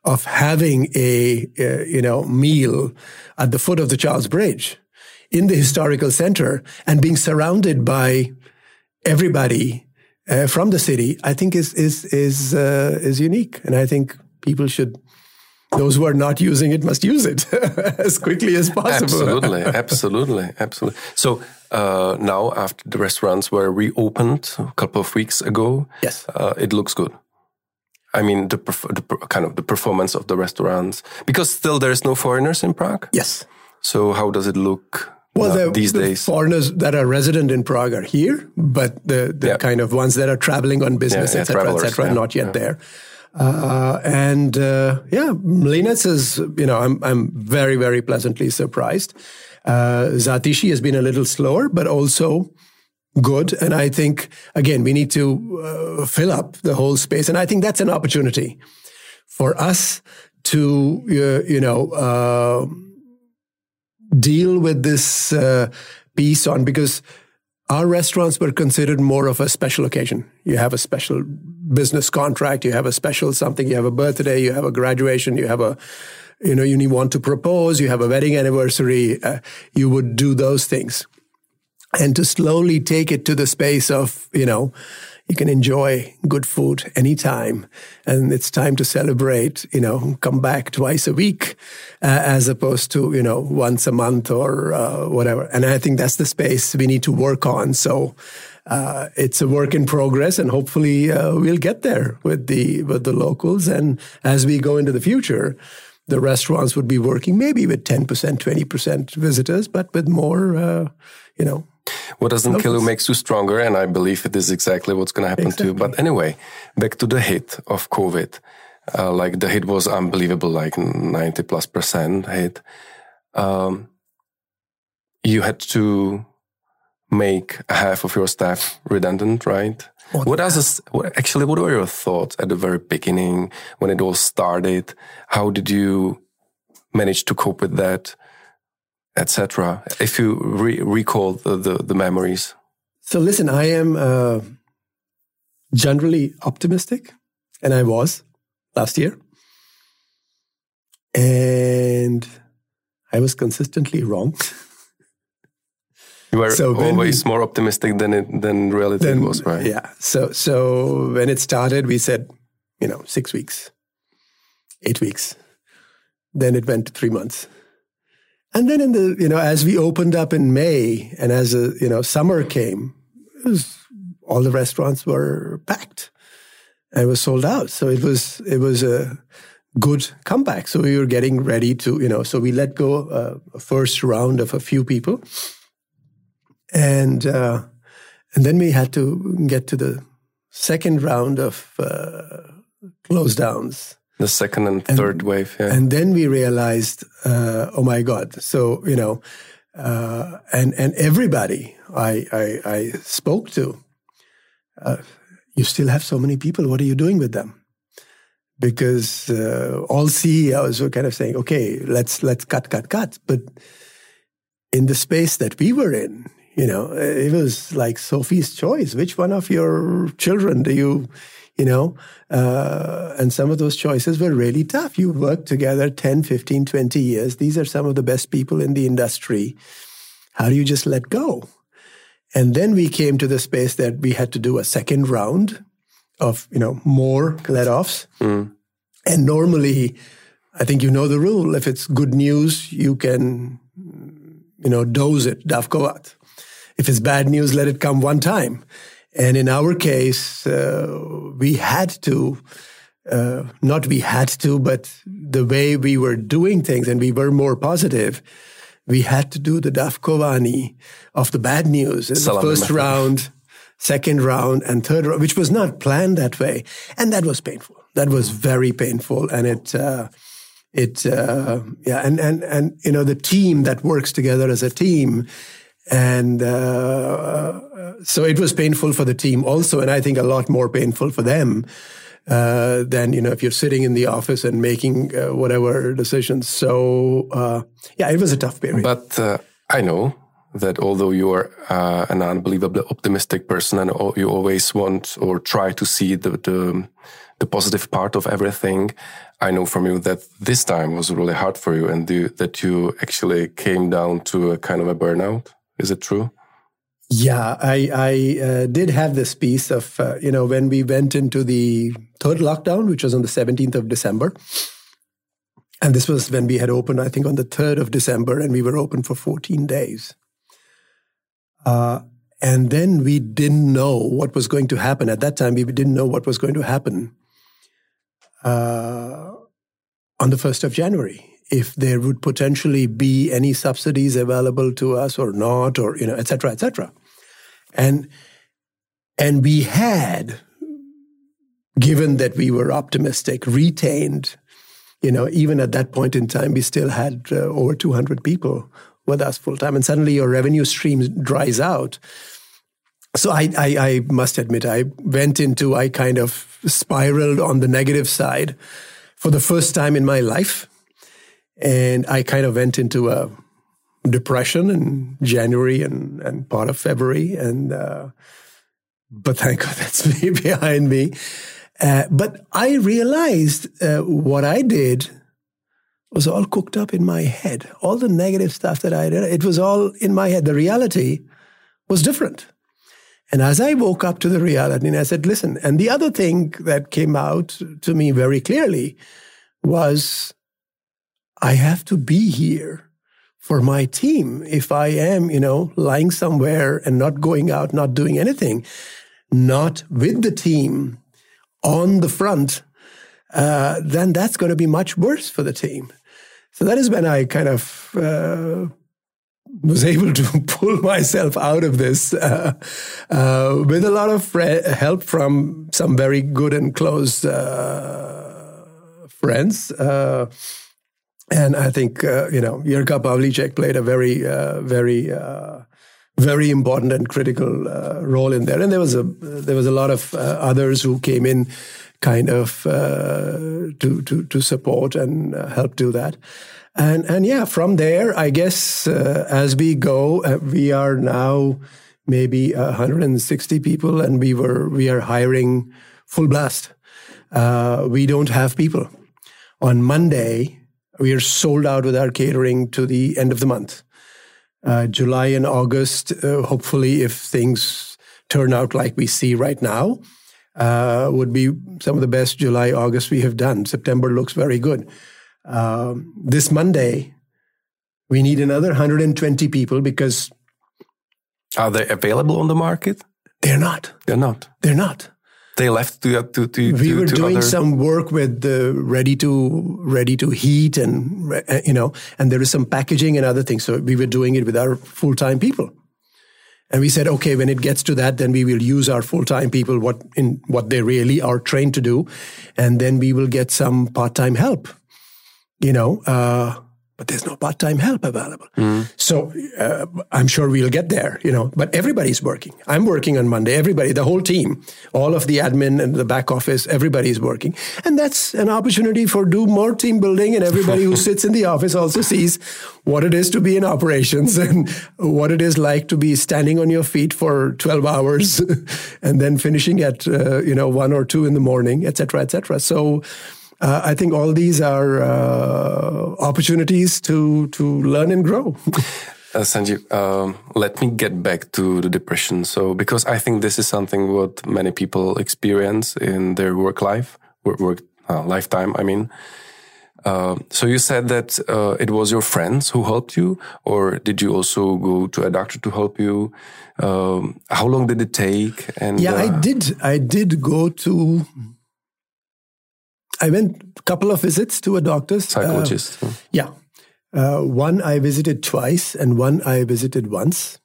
of having a meal at the foot of the Charles Bridge in the historical center and being surrounded by everybody from the city, I think is unique. And I think people should, those who are not using it must use it as quickly as possible. Absolutely. So now after the restaurants were reopened a couple of weeks ago, yes, it looks good. I mean, the performance of the restaurants, because still there's no foreigners in Prague. Yes. So how does it look these days? Foreigners that are resident in Prague are here, but the kind of ones that are traveling on business, etc., not yet there. Mlynec is, I'm very, very pleasantly surprised. Zátiší has been a little slower, but also good. And I think, again, we need to fill up the whole space. And I think that's an opportunity for us to, deal with this piece on, because our restaurants were considered more of a special occasion. You have a special business contract, you have a special something, you have a birthday, you have a graduation, you have you want to propose, you have a wedding anniversary, you would do those things. And to slowly take it to the space of, you can enjoy good food anytime. And it's time to celebrate, come back twice a week, as opposed to, once a month or whatever. And I think that's the space we need to work on. So it's a work in progress, and hopefully we'll get there with the locals. And as we go into the future, the restaurants would be working maybe with 10%, 20% visitors, but with more, What doesn't kill you makes you stronger, and I believe it is exactly what's going to happen too. But anyway, back to the hit of COVID. The hit was unbelievable, like 90+% hit. You had to make half of your staff redundant, right? What were your thoughts at the very beginning when it all started? How did you manage to cope with that, etc.? If you recall the memories. So listen, I am generally optimistic, and I was last year. And I was consistently wrong. You were always more optimistic than reality was, right? Yeah. So when it started, we said, 6 weeks, 8 weeks. Then it went to 3 months. And then as we opened up in May, and as summer came, all the restaurants were packed. And it was sold out. So it was a good comeback. So we were getting ready to, so we let go a first round of a few people. And then we had to get to the second round of close downs. The second and third wave, yeah. And then we realized, oh my God. So, and everybody I spoke to, you still have so many people. What are you doing with them? Because all CEOs were kind of saying, okay, let's cut. But in the space that we were in, it was like Sophie's choice. Which one of your children do you, and some of those choices were really tough. You worked together 10, 15, 20 years. These are some of the best people in the industry. How do you just let go? And then we came to the space that we had to do a second round of, more let-offs. Mm. And normally, I think the rule. If it's good news, you can, dose it, davkovat. If it's bad news, let it come one time. And in our case, we had to, but the way we were doing things, and we were more positive, we had to do the davkování of the bad news in the first round, second round, and third round, which was not planned that way. And that was painful. That was very painful. And the team that works together as a team. And so it was painful for the team also, and I think a lot more painful for them than, if you're sitting in the office and making whatever decisions. So, it was a tough period. But I know that although you are an unbelievably optimistic person and you always want or try to see the positive part of everything, I know from you that this time was really hard for you and that you actually came down to a kind of a burnout. Is it true? Yeah, I did have this piece of, when we went into the third lockdown, which was on the 17th of December. And this was when we had opened, I think, on the 3rd of December, and we were open for 14 days. And then we didn't know what was going to happen. At that time, we didn't know what was going to happen on the 1st of January. If there would potentially be any subsidies available to us or not, or, et cetera, et cetera. And we had, given that we were optimistic, retained, even at that point in time, we still had over 200 people with us full time. And suddenly your revenue stream dries out. So I must admit, I kind of spiraled on the negative side for the first time in my life. And I kind of went into a depression in January and part of February. But thank God that's behind me. But I realized what I did was all cooked up in my head. All the negative stuff that I did, it was all in my head. The reality was different. And as I woke up to the reality, and I said, listen, and the other thing that came out to me very clearly was I have to be here for my team. If I am, lying somewhere and not going out, not doing anything, not with the team on the front, then that's going to be much worse for the team. So that is when I kind of was able to pull myself out of this with a lot of help from some very good and close friends. And I think, Jirka Pavlíček played a very, very important and critical role in there. And there was a lot of others who came in kind of to support and help do that. And yeah, from there, I guess as we go, we are now maybe 160 people, and we are hiring full blast. We don't have people. On Monday, we are sold out with our catering to the end of the month. July and August, hopefully, if things turn out like we see right now, would be some of the best July, August we have done. September looks very good. This Monday, we need another 120 people because... Are they available on the market? They're not. They're not. They're not. They left to we were doing some work with the ready to heat and and there is some packaging and other things. So we were doing it with our full-time people. And we said, okay, when it gets to that, then we will use our full-time people, what they really are trained to do. And then we will get some part-time help, but there's no part-time help available. So I'm sure we'll get there, but everybody's working. I'm working on Monday. Everybody, the whole team, all of the admin and the back office, everybody's working. And that's an opportunity for do more team building. And everybody who sits in the office also sees what it is to be in operations and what it is like to be standing on your feet for 12 hours and then finishing at, 1 or 2 in the morning, et cetera, et cetera. So I think all these are opportunities to learn and grow. Sanjeev, let me get back to the depression. So, because I think this is something what many people experience in their lifetime. I mean, so you said that it was your friends who helped you, or did you also go to a doctor to help you? How long did it take? And yeah, I did go to. I went a couple of visits to a doctor's. Psychologist. Yeah. One I visited twice and one I visited once.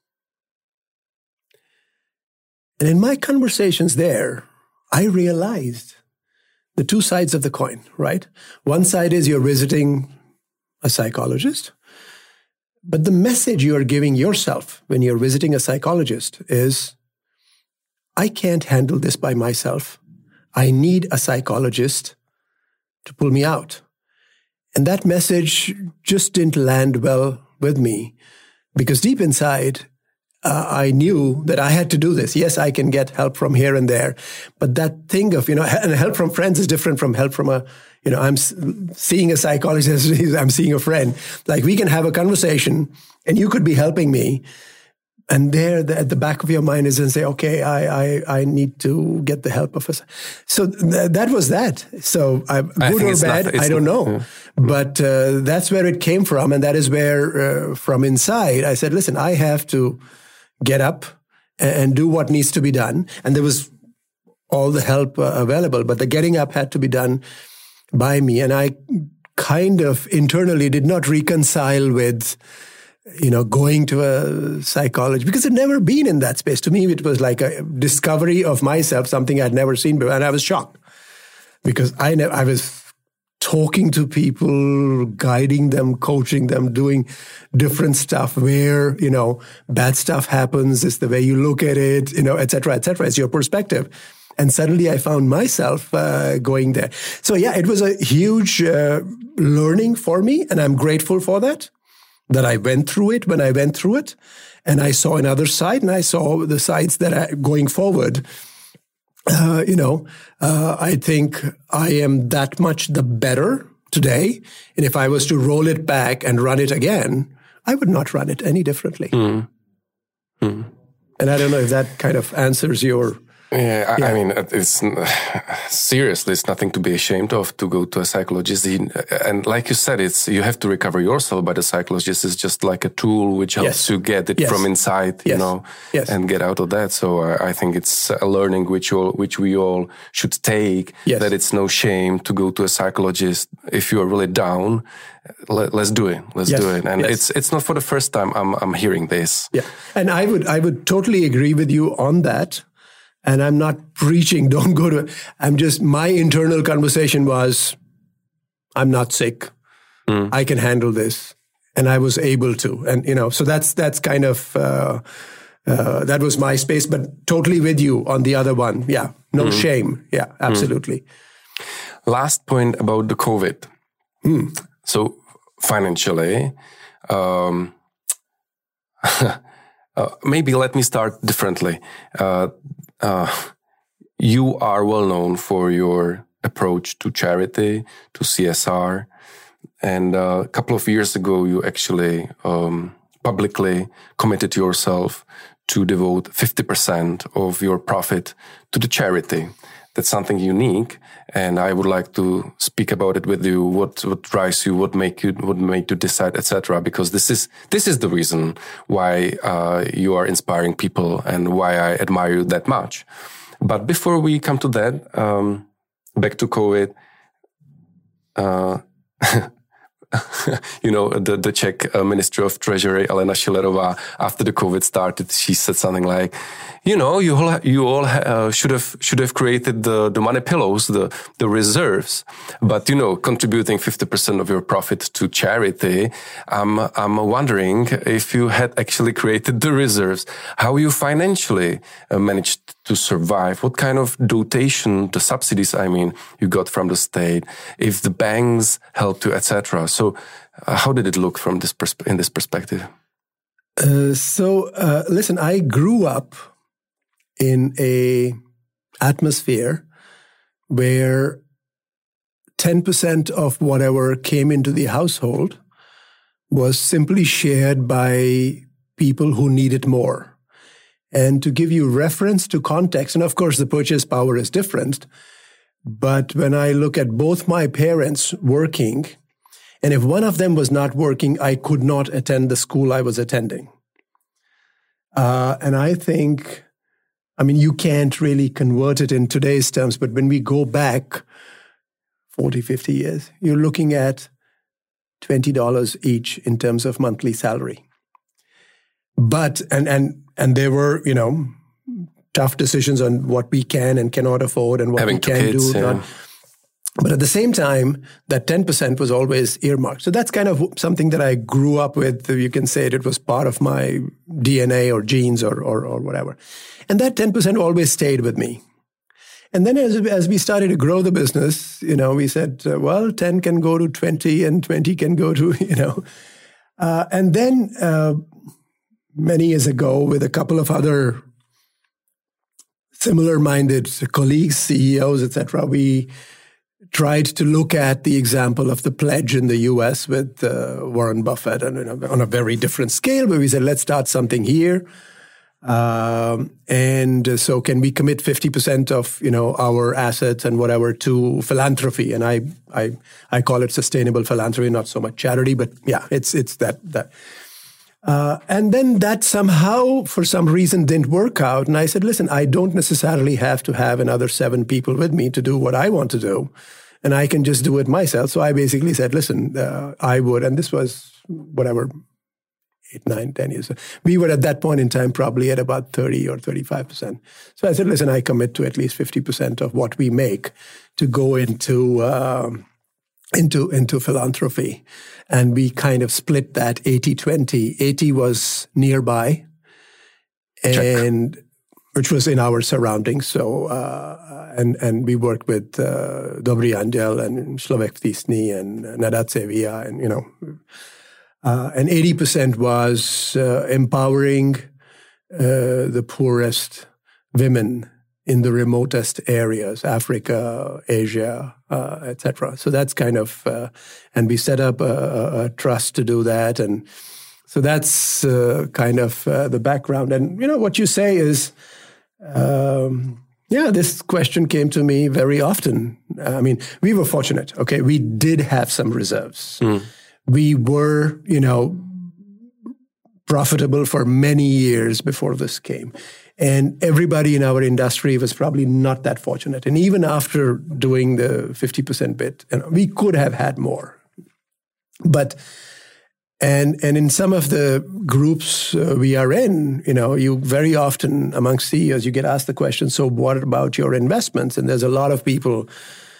And in my conversations there, I realized the two sides of the coin, right? One side is you're visiting a psychologist, but the message you are giving yourself when you're visiting a psychologist is, I can't handle this by myself. I need a psychologist to pull me out. And that message just didn't land well with me because deep inside, I knew that I had to do this. Yes, I can get help from here and there, but that thing of, and help from friends is different from help from a I'm seeing a psychologist, I'm seeing a friend. Like, we can have a conversation and you could be helping me. And there at the back of your mind is and say, okay, I need to get the help of us. So that was that. So good or bad, I don't know. Yeah. But that's where it came from. And that is where from inside, I said, listen, I have to get up and do what needs to be done. And there was all the help available, but the getting up had to be done by me. And I kind of internally did not reconcile with, going to a psychologist, because I'd never been in that space. To me, it was like a discovery of myself, something I'd never seen before. And I was shocked because I was talking to people, guiding them, coaching them, doing different stuff where, bad stuff happens. It's the way you look at it, et cetera, et cetera. It's your perspective. And suddenly I found myself going there. So yeah, it was a huge learning for me. And I'm grateful for that I went through it when I went through it. And I saw another side, and I saw the sides that are going forward. I think I am that much the better today. And if I was to roll it back and run it again, I would not run it any differently. And I don't know if that kind of answers your... Yeah, I mean, it's seriously, it's nothing to be ashamed of to go to a psychologist. And like you said, you have to recover yourself, but a psychologist is just like a tool which helps you get it from inside, and get out of that. So I think it's a learning which we all should take, that it's no shame to go to a psychologist. If you are really down, let's do it. Let's do it. And it's not for the first time I'm hearing this. Yeah. And I would totally agree with you on that. And I'm not preaching, don't go to, my internal conversation was, I'm not sick. I can handle this. And I was able to. And, so that's kind of, that was my space, but totally with you on the other one. Yeah. No shame. Yeah, absolutely. Last point about the COVID. So financially, maybe let me start differently. You are well known for your approach to charity, to CSR. And a couple of years ago, you actually publicly committed yourself to devote 50% of your profit to the charity. That's something unique. And I would like to speak about it with you. What drives you? What made you decide, etc. Because this is the reason why you are inspiring people and why I admire you that much. But before we come to that, back to COVID. The Czech Minister of Treasury, Alena Schillerová, after the COVID started, she said something like, you all should have created the money pillows, the reserves, but contributing 50% of your profit to charity. I'm wondering if you had actually created the reserves, how you financially managed to survive, what kind of dotation, the subsidies, you got from the state, if the banks helped you, etc. So, how did it look from in this perspective? Listen, I grew up in a atmosphere where 10% of whatever came into the household was simply shared by people who needed more. And to give you reference to context, and of course the purchase power is different, but when I look at both my parents working, and if one of them was not working, I could not attend the school I was attending. And I think, you can't really convert it in today's terms, but when we go back 40, 50 years, you're looking at $20 each in terms of monthly salary. But, and there were, tough decisions on what we can and cannot afford and what we can do. Yeah. But at the same time, that 10% was always earmarked. So that's kind of something that I grew up with. You can say it was part of my DNA or genes or whatever. And that 10% always stayed with me. And then as we started to grow the business, we said, 10 can go to 20 and 20 can go to, and then many years ago with a couple of other similar-minded colleagues, CEOs, etc., we tried to look at the example of the pledge in the U.S. with Warren Buffett, and on a very different scale, where we said, let's start something here. And so can we commit 50% of, our assets and whatever to philanthropy? And I call it sustainable philanthropy, not so much charity, but yeah, it's that. And then that somehow, for some reason, didn't work out. And I said, listen, I don't necessarily have to have another 7 people with me to do what I want to do. And I can just do it myself. So I basically said, listen, I would, and this was whatever, 8, 9, 10 years. We were at that point in time probably at about 30 or 35%. So I said, listen, I commit to at least 50% of what we make to go into philanthropy. And we kind of split that 80-20. 80 was nearby, and which was in our surroundings. So, and we worked with Dobrý Anděl and Člověk v tísni and Nadace Via, and, and 80% was empowering the poorest women in the remotest areas, Africa, Asia, etc. So that's kind of, and we set up a trust to do that. And so that's kind of the background. And, what you say is, this question came to me very often. I mean, we were fortunate. Okay, we did have some reserves. We were, profitable for many years before this came. And everybody in our industry was probably not that fortunate. And even after doing the 50% bit, we could have had more. But, and in some of the groups we are in, you very often amongst CEOs, you get asked the question, so what about your investments? And there's a lot of people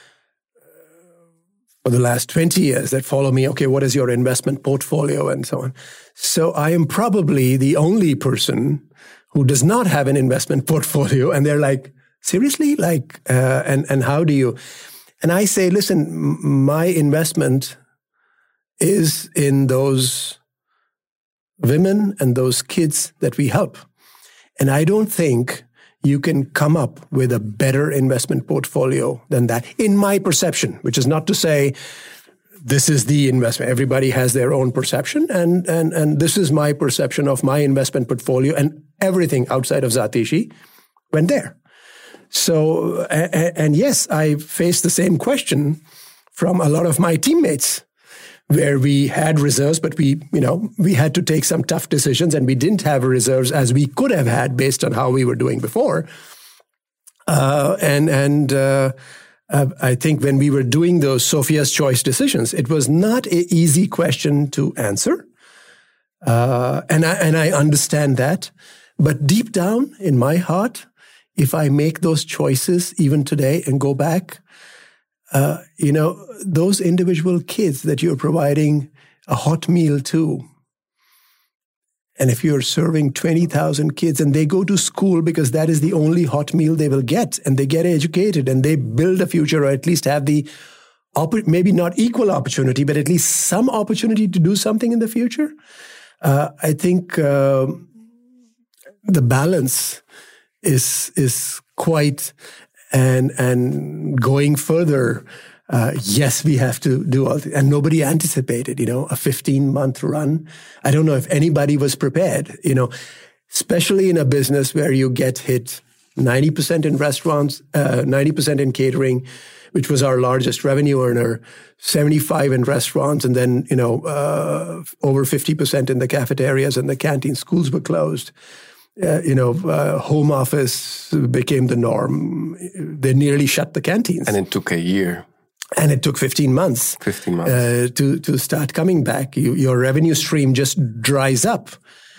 for the last 20 years that follow me, okay, what is your investment portfolio and so on. So I am probably the only person who does not have an investment portfolio. And they're like, seriously? And how do you? And I say, listen, my investment is in those women and those kids that we help. And I don't think you can come up with a better investment portfolio than that, in my perception, which is not to say this is the investment. Everybody has their own perception, and this is my perception of my investment portfolio, and everything outside of Zatishi went there. So, and yes, I faced the same question from a lot of my teammates, where we had reserves, but we had to take some tough decisions, and we didn't have reserves as we could have had based on how we were doing before. I think when we were doing those Sophia's Choice decisions, it was not an easy question to answer. And I understand that. But deep down in my heart, if I make those choices even today and go back, those individual kids that you're providing a hot meal to, and if you're serving 20,000 kids and they go to school because that is the only hot meal they will get, and they get educated and they build a future, or at least have the, maybe not equal opportunity, but at least some opportunity to do something in the future, I think the balance is quite, and going further, yes, we have to do all, and nobody anticipated, a 15-month run. I don't know if anybody was prepared, especially in a business where you get hit 90% in restaurants, 90% in catering, which was our largest revenue earner, 75% in restaurants, and then, over 50% in the cafeterias and the canteens. Schools were closed. Home office became the norm. They nearly shut the canteens. And it took a year. And it took 15 months. 15 months. To start coming back. Your revenue stream just dries up.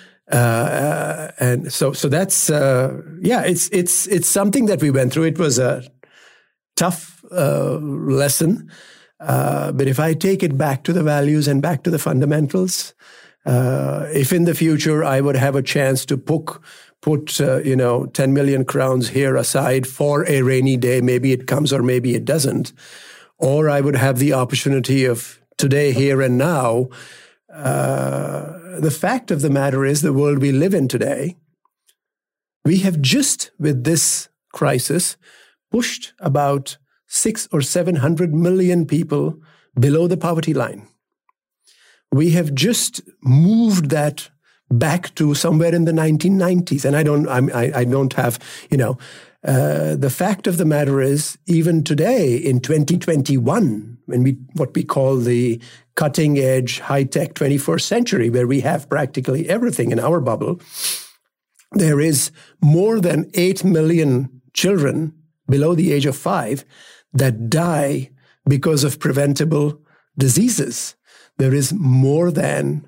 And so that's, it's something that we went through. It was a tough lesson. But if I take it back to the values and back to the fundamentals, if in the future I would have a chance to put 10 million crowns here aside for a rainy day, maybe it comes or maybe it doesn't, or I would have the opportunity of today, here and now, the fact of the matter is the world we live in today, we have just with this crisis pushed about 600 or 700 million people below the poverty line. We have just moved that back to somewhere in the 1990s. And I don't have, the fact of the matter is, even today in 2021, what we call the cutting edge, high-tech 21st century, where we have practically everything in our bubble, there is more than 8 million children below the age of 5 that die because of preventable diseases. There is more than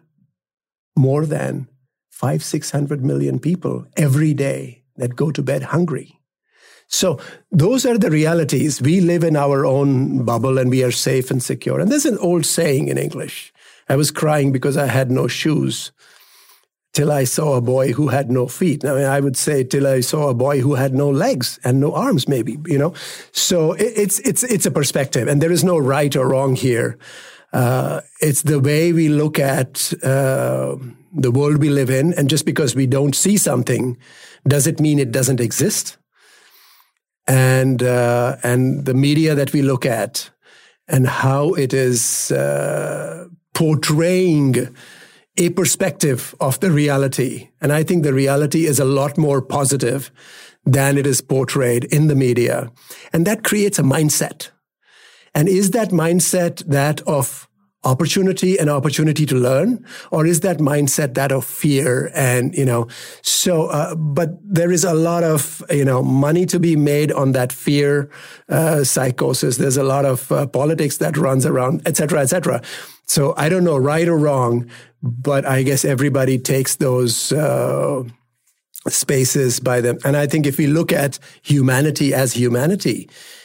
500-600 million people every day that go to bed hungry. So those are the realities. We live in our own bubble and we are safe and secure. And there's an old saying in English. I was crying because I had no shoes till I saw a boy who had no feet. I would say till I saw a boy who had no legs and no arms, maybe, So it's a perspective, and there is no right or wrong here. It's the way we look at the world we live in, and just because we don't see something, does it mean it doesn't exist? And the media that we look at, and how it is portraying a perspective of the reality. And I think the reality is a lot more positive than it is portrayed in the media. And that creates a mindset. And is that mindset that of opportunity and opportunity to learn? Or is that mindset that of fear? And, but there is a lot of, money to be made on that fear psychosis. There's a lot of politics that runs around, et cetera, et cetera. So I don't know right or wrong, but I guess everybody takes those spaces by them. And I think if we look at humanity as humanity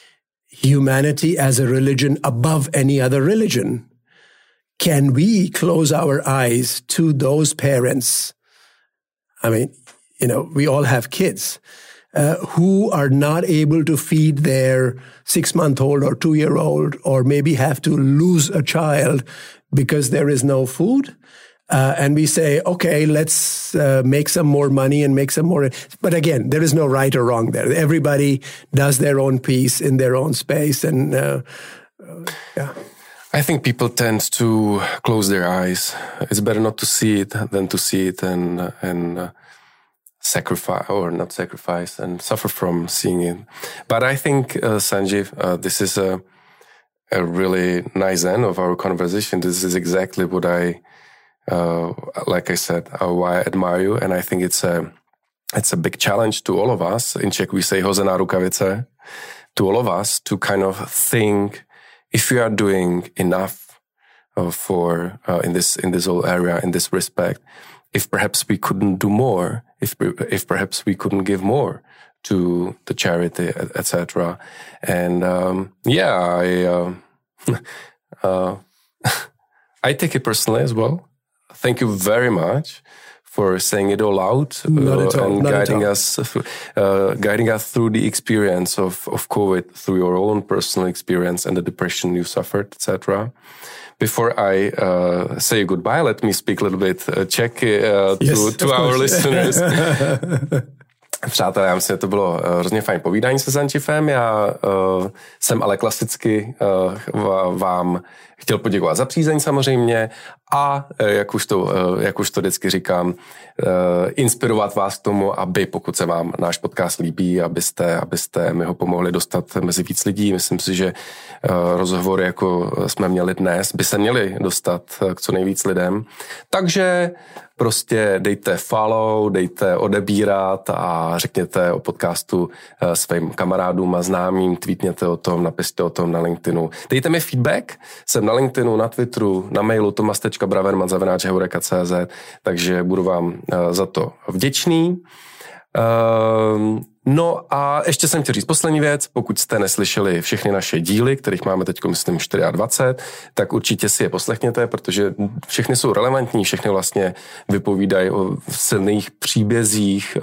as a religion above any other religion, can we close our eyes to those parents? We all have kids who are not able to feed their 6-month-old or 2-year-old, or maybe have to lose a child because there is no food. And we say, okay, let's make some more money and make some more. But again, there is no right or wrong there. Everybody does their own piece in their own space. And yeah. I think people tend to close their eyes. It's better not to see it than to see it and sacrifice, or not sacrifice, and suffer from seeing it. But I think, Sanjeev, this is a really nice end of our conversation. This is exactly what like I said, why I admire you. And I think it's a big challenge to all of us. In Czech, we say hozená rukavice, to all of us to kind of think if we are doing enough for in this whole area, in this respect, if perhaps we couldn't do more, if perhaps we couldn't give more to the charity, etc. And I take it personally as well. Thank you very much for saying it all out and guiding us through the experience of COVID, through your own personal experience and the depression you suffered, etc. Before I say goodbye, let me speak a little bit Czech to our listeners. Přátelé, já myslím, že to bylo hrozně fajn povídání se Sanjeevem. Já jsem ale klasicky vám chtěl poděkovat za přízeň samozřejmě a jak už to vždycky říkám, inspirovat vás k tomu, aby pokud se vám náš podcast líbí, abyste mi ho pomohli dostat mezi víc lidí. Myslím si, že rozhovory, jako jsme měli dnes, by se měly dostat k co nejvíc lidem. Takže prostě dejte follow, dejte odebírat a řekněte o podcastu svým kamarádům a známým, tweetněte o tom, napište o tom na LinkedInu. Dejte mi feedback, jsem na LinkedInu, na Twitteru, na mailu tomas.braverman@heureka.cz, takže budu vám za to vděčný. No a ještě jsem chtěl říct poslední věc, pokud jste neslyšeli všechny naše díly, kterých máme teď, myslím, 24, tak určitě si je poslechněte, protože všechny jsou relevantní, všechny vlastně vypovídají o silných příbězích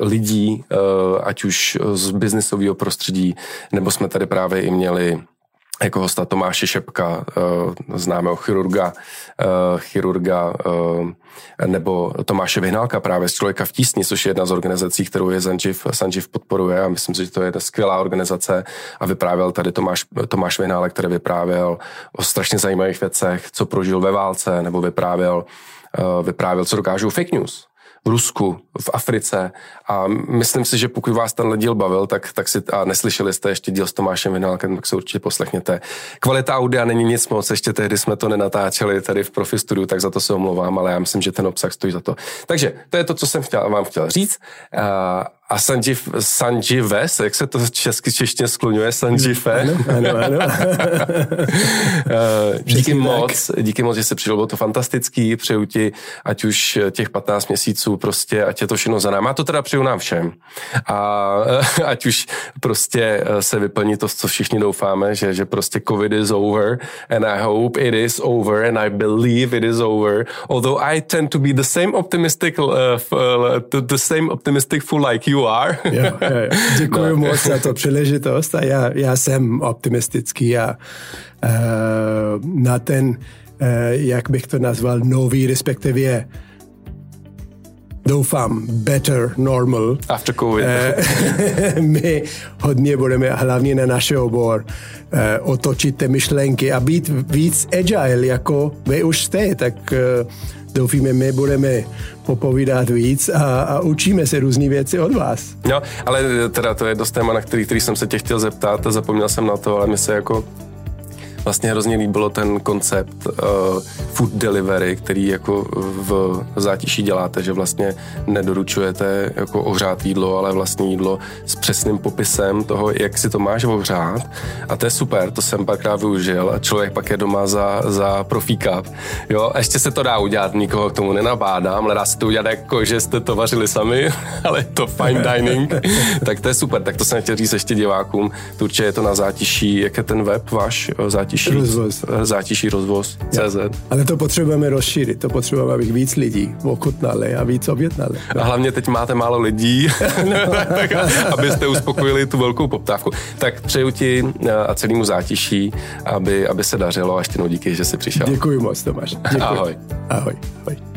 lidí, ať už z biznisového prostředí, nebo jsme tady právě i měli jako hosta Tomáše Šepka, známého chirurga, nebo Tomáše Vyhnálka právě z Člověka v tísni, což je jedna z organizací, kterou je Sanjiv podporuje a myslím si, že to je skvělá organizace a vyprávěl tady Tomáš Vyhnálek, který vyprávěl o strašně zajímavých věcech, co prožil ve válce, nebo vyprávěl, co dokážou fake news v Rusku, v Africe a myslím si, že pokud vás tenhle díl bavil, tak si a neslyšeli jste ještě díl s Tomášem Vyhnálkem, tak se určitě poslechněte. Kvalita audia není nic moc, ještě tehdy jsme to nenatáčeli tady v Profi Studiu, tak za to se omlouvám, ale já myslím, že ten obsah stojí za to. Takže to je to, co jsem vám chtěl říct. A Sanjives, jak se to češtině skloňuje, Sanjive? Ano. Díky moc, že jsi přišel, bylo to fantastický, přeju ti, ať už těch 15 měsíců prostě, ať je to všechno za námi. A to teda přeju nám všem. A ať už prostě se vyplní to, co všichni doufáme, že prostě COVID is over and I hope it is over and I believe it is over. Although I tend to be the same optimistic fool like you are. Jo. Děkuji moc za to příležitost a já jsem optimistický a na ten, jak bych to nazval, nový, respektive doufám, better normal. After COVID. My hodně budeme, hlavně na náš obor, otočit ty myšlenky a být víc agile, jako vy už jste, tak doufíme, my budeme popovídat víc a učíme se různý věci od vás. No, ale teda to je dost téma, na který jsem se tě chtěl zeptat a zapomněl jsem na to, ale mi se jako vlastně hrozně líbilo ten koncept food delivery, který jako v Zátiší děláte, že vlastně nedoručujete jako ohřát jídlo, ale vlastně jídlo s přesným popisem toho, jak si to máš ohřát. A to je super, to jsem párkrát využil a člověk pak je doma za profíka. Jo, a ještě se to dá udělat, nikoho k tomu nenabádám, ale dá se to udělat jako, že jste to vařili sami, ale je to fine dining. Tak to je super, tak to jsem chtěl říct ještě divákům. To určitě je to na Zátiší, jak je ten web váš? Zátiší rozvoz.cz. Ale to potřebujeme rozšířit, to potřebujeme, abych víc lidí ochutnali a víc objednali. A hlavně teď máte málo lidí, abyste uspokojili tu velkou poptávku. Tak přeju ti a celému Zátiší, aby se dařilo a ještě jednou díky, že jsi přišel. Děkuji moc, Tomáš. Děkuji. Ahoj. Ahoj.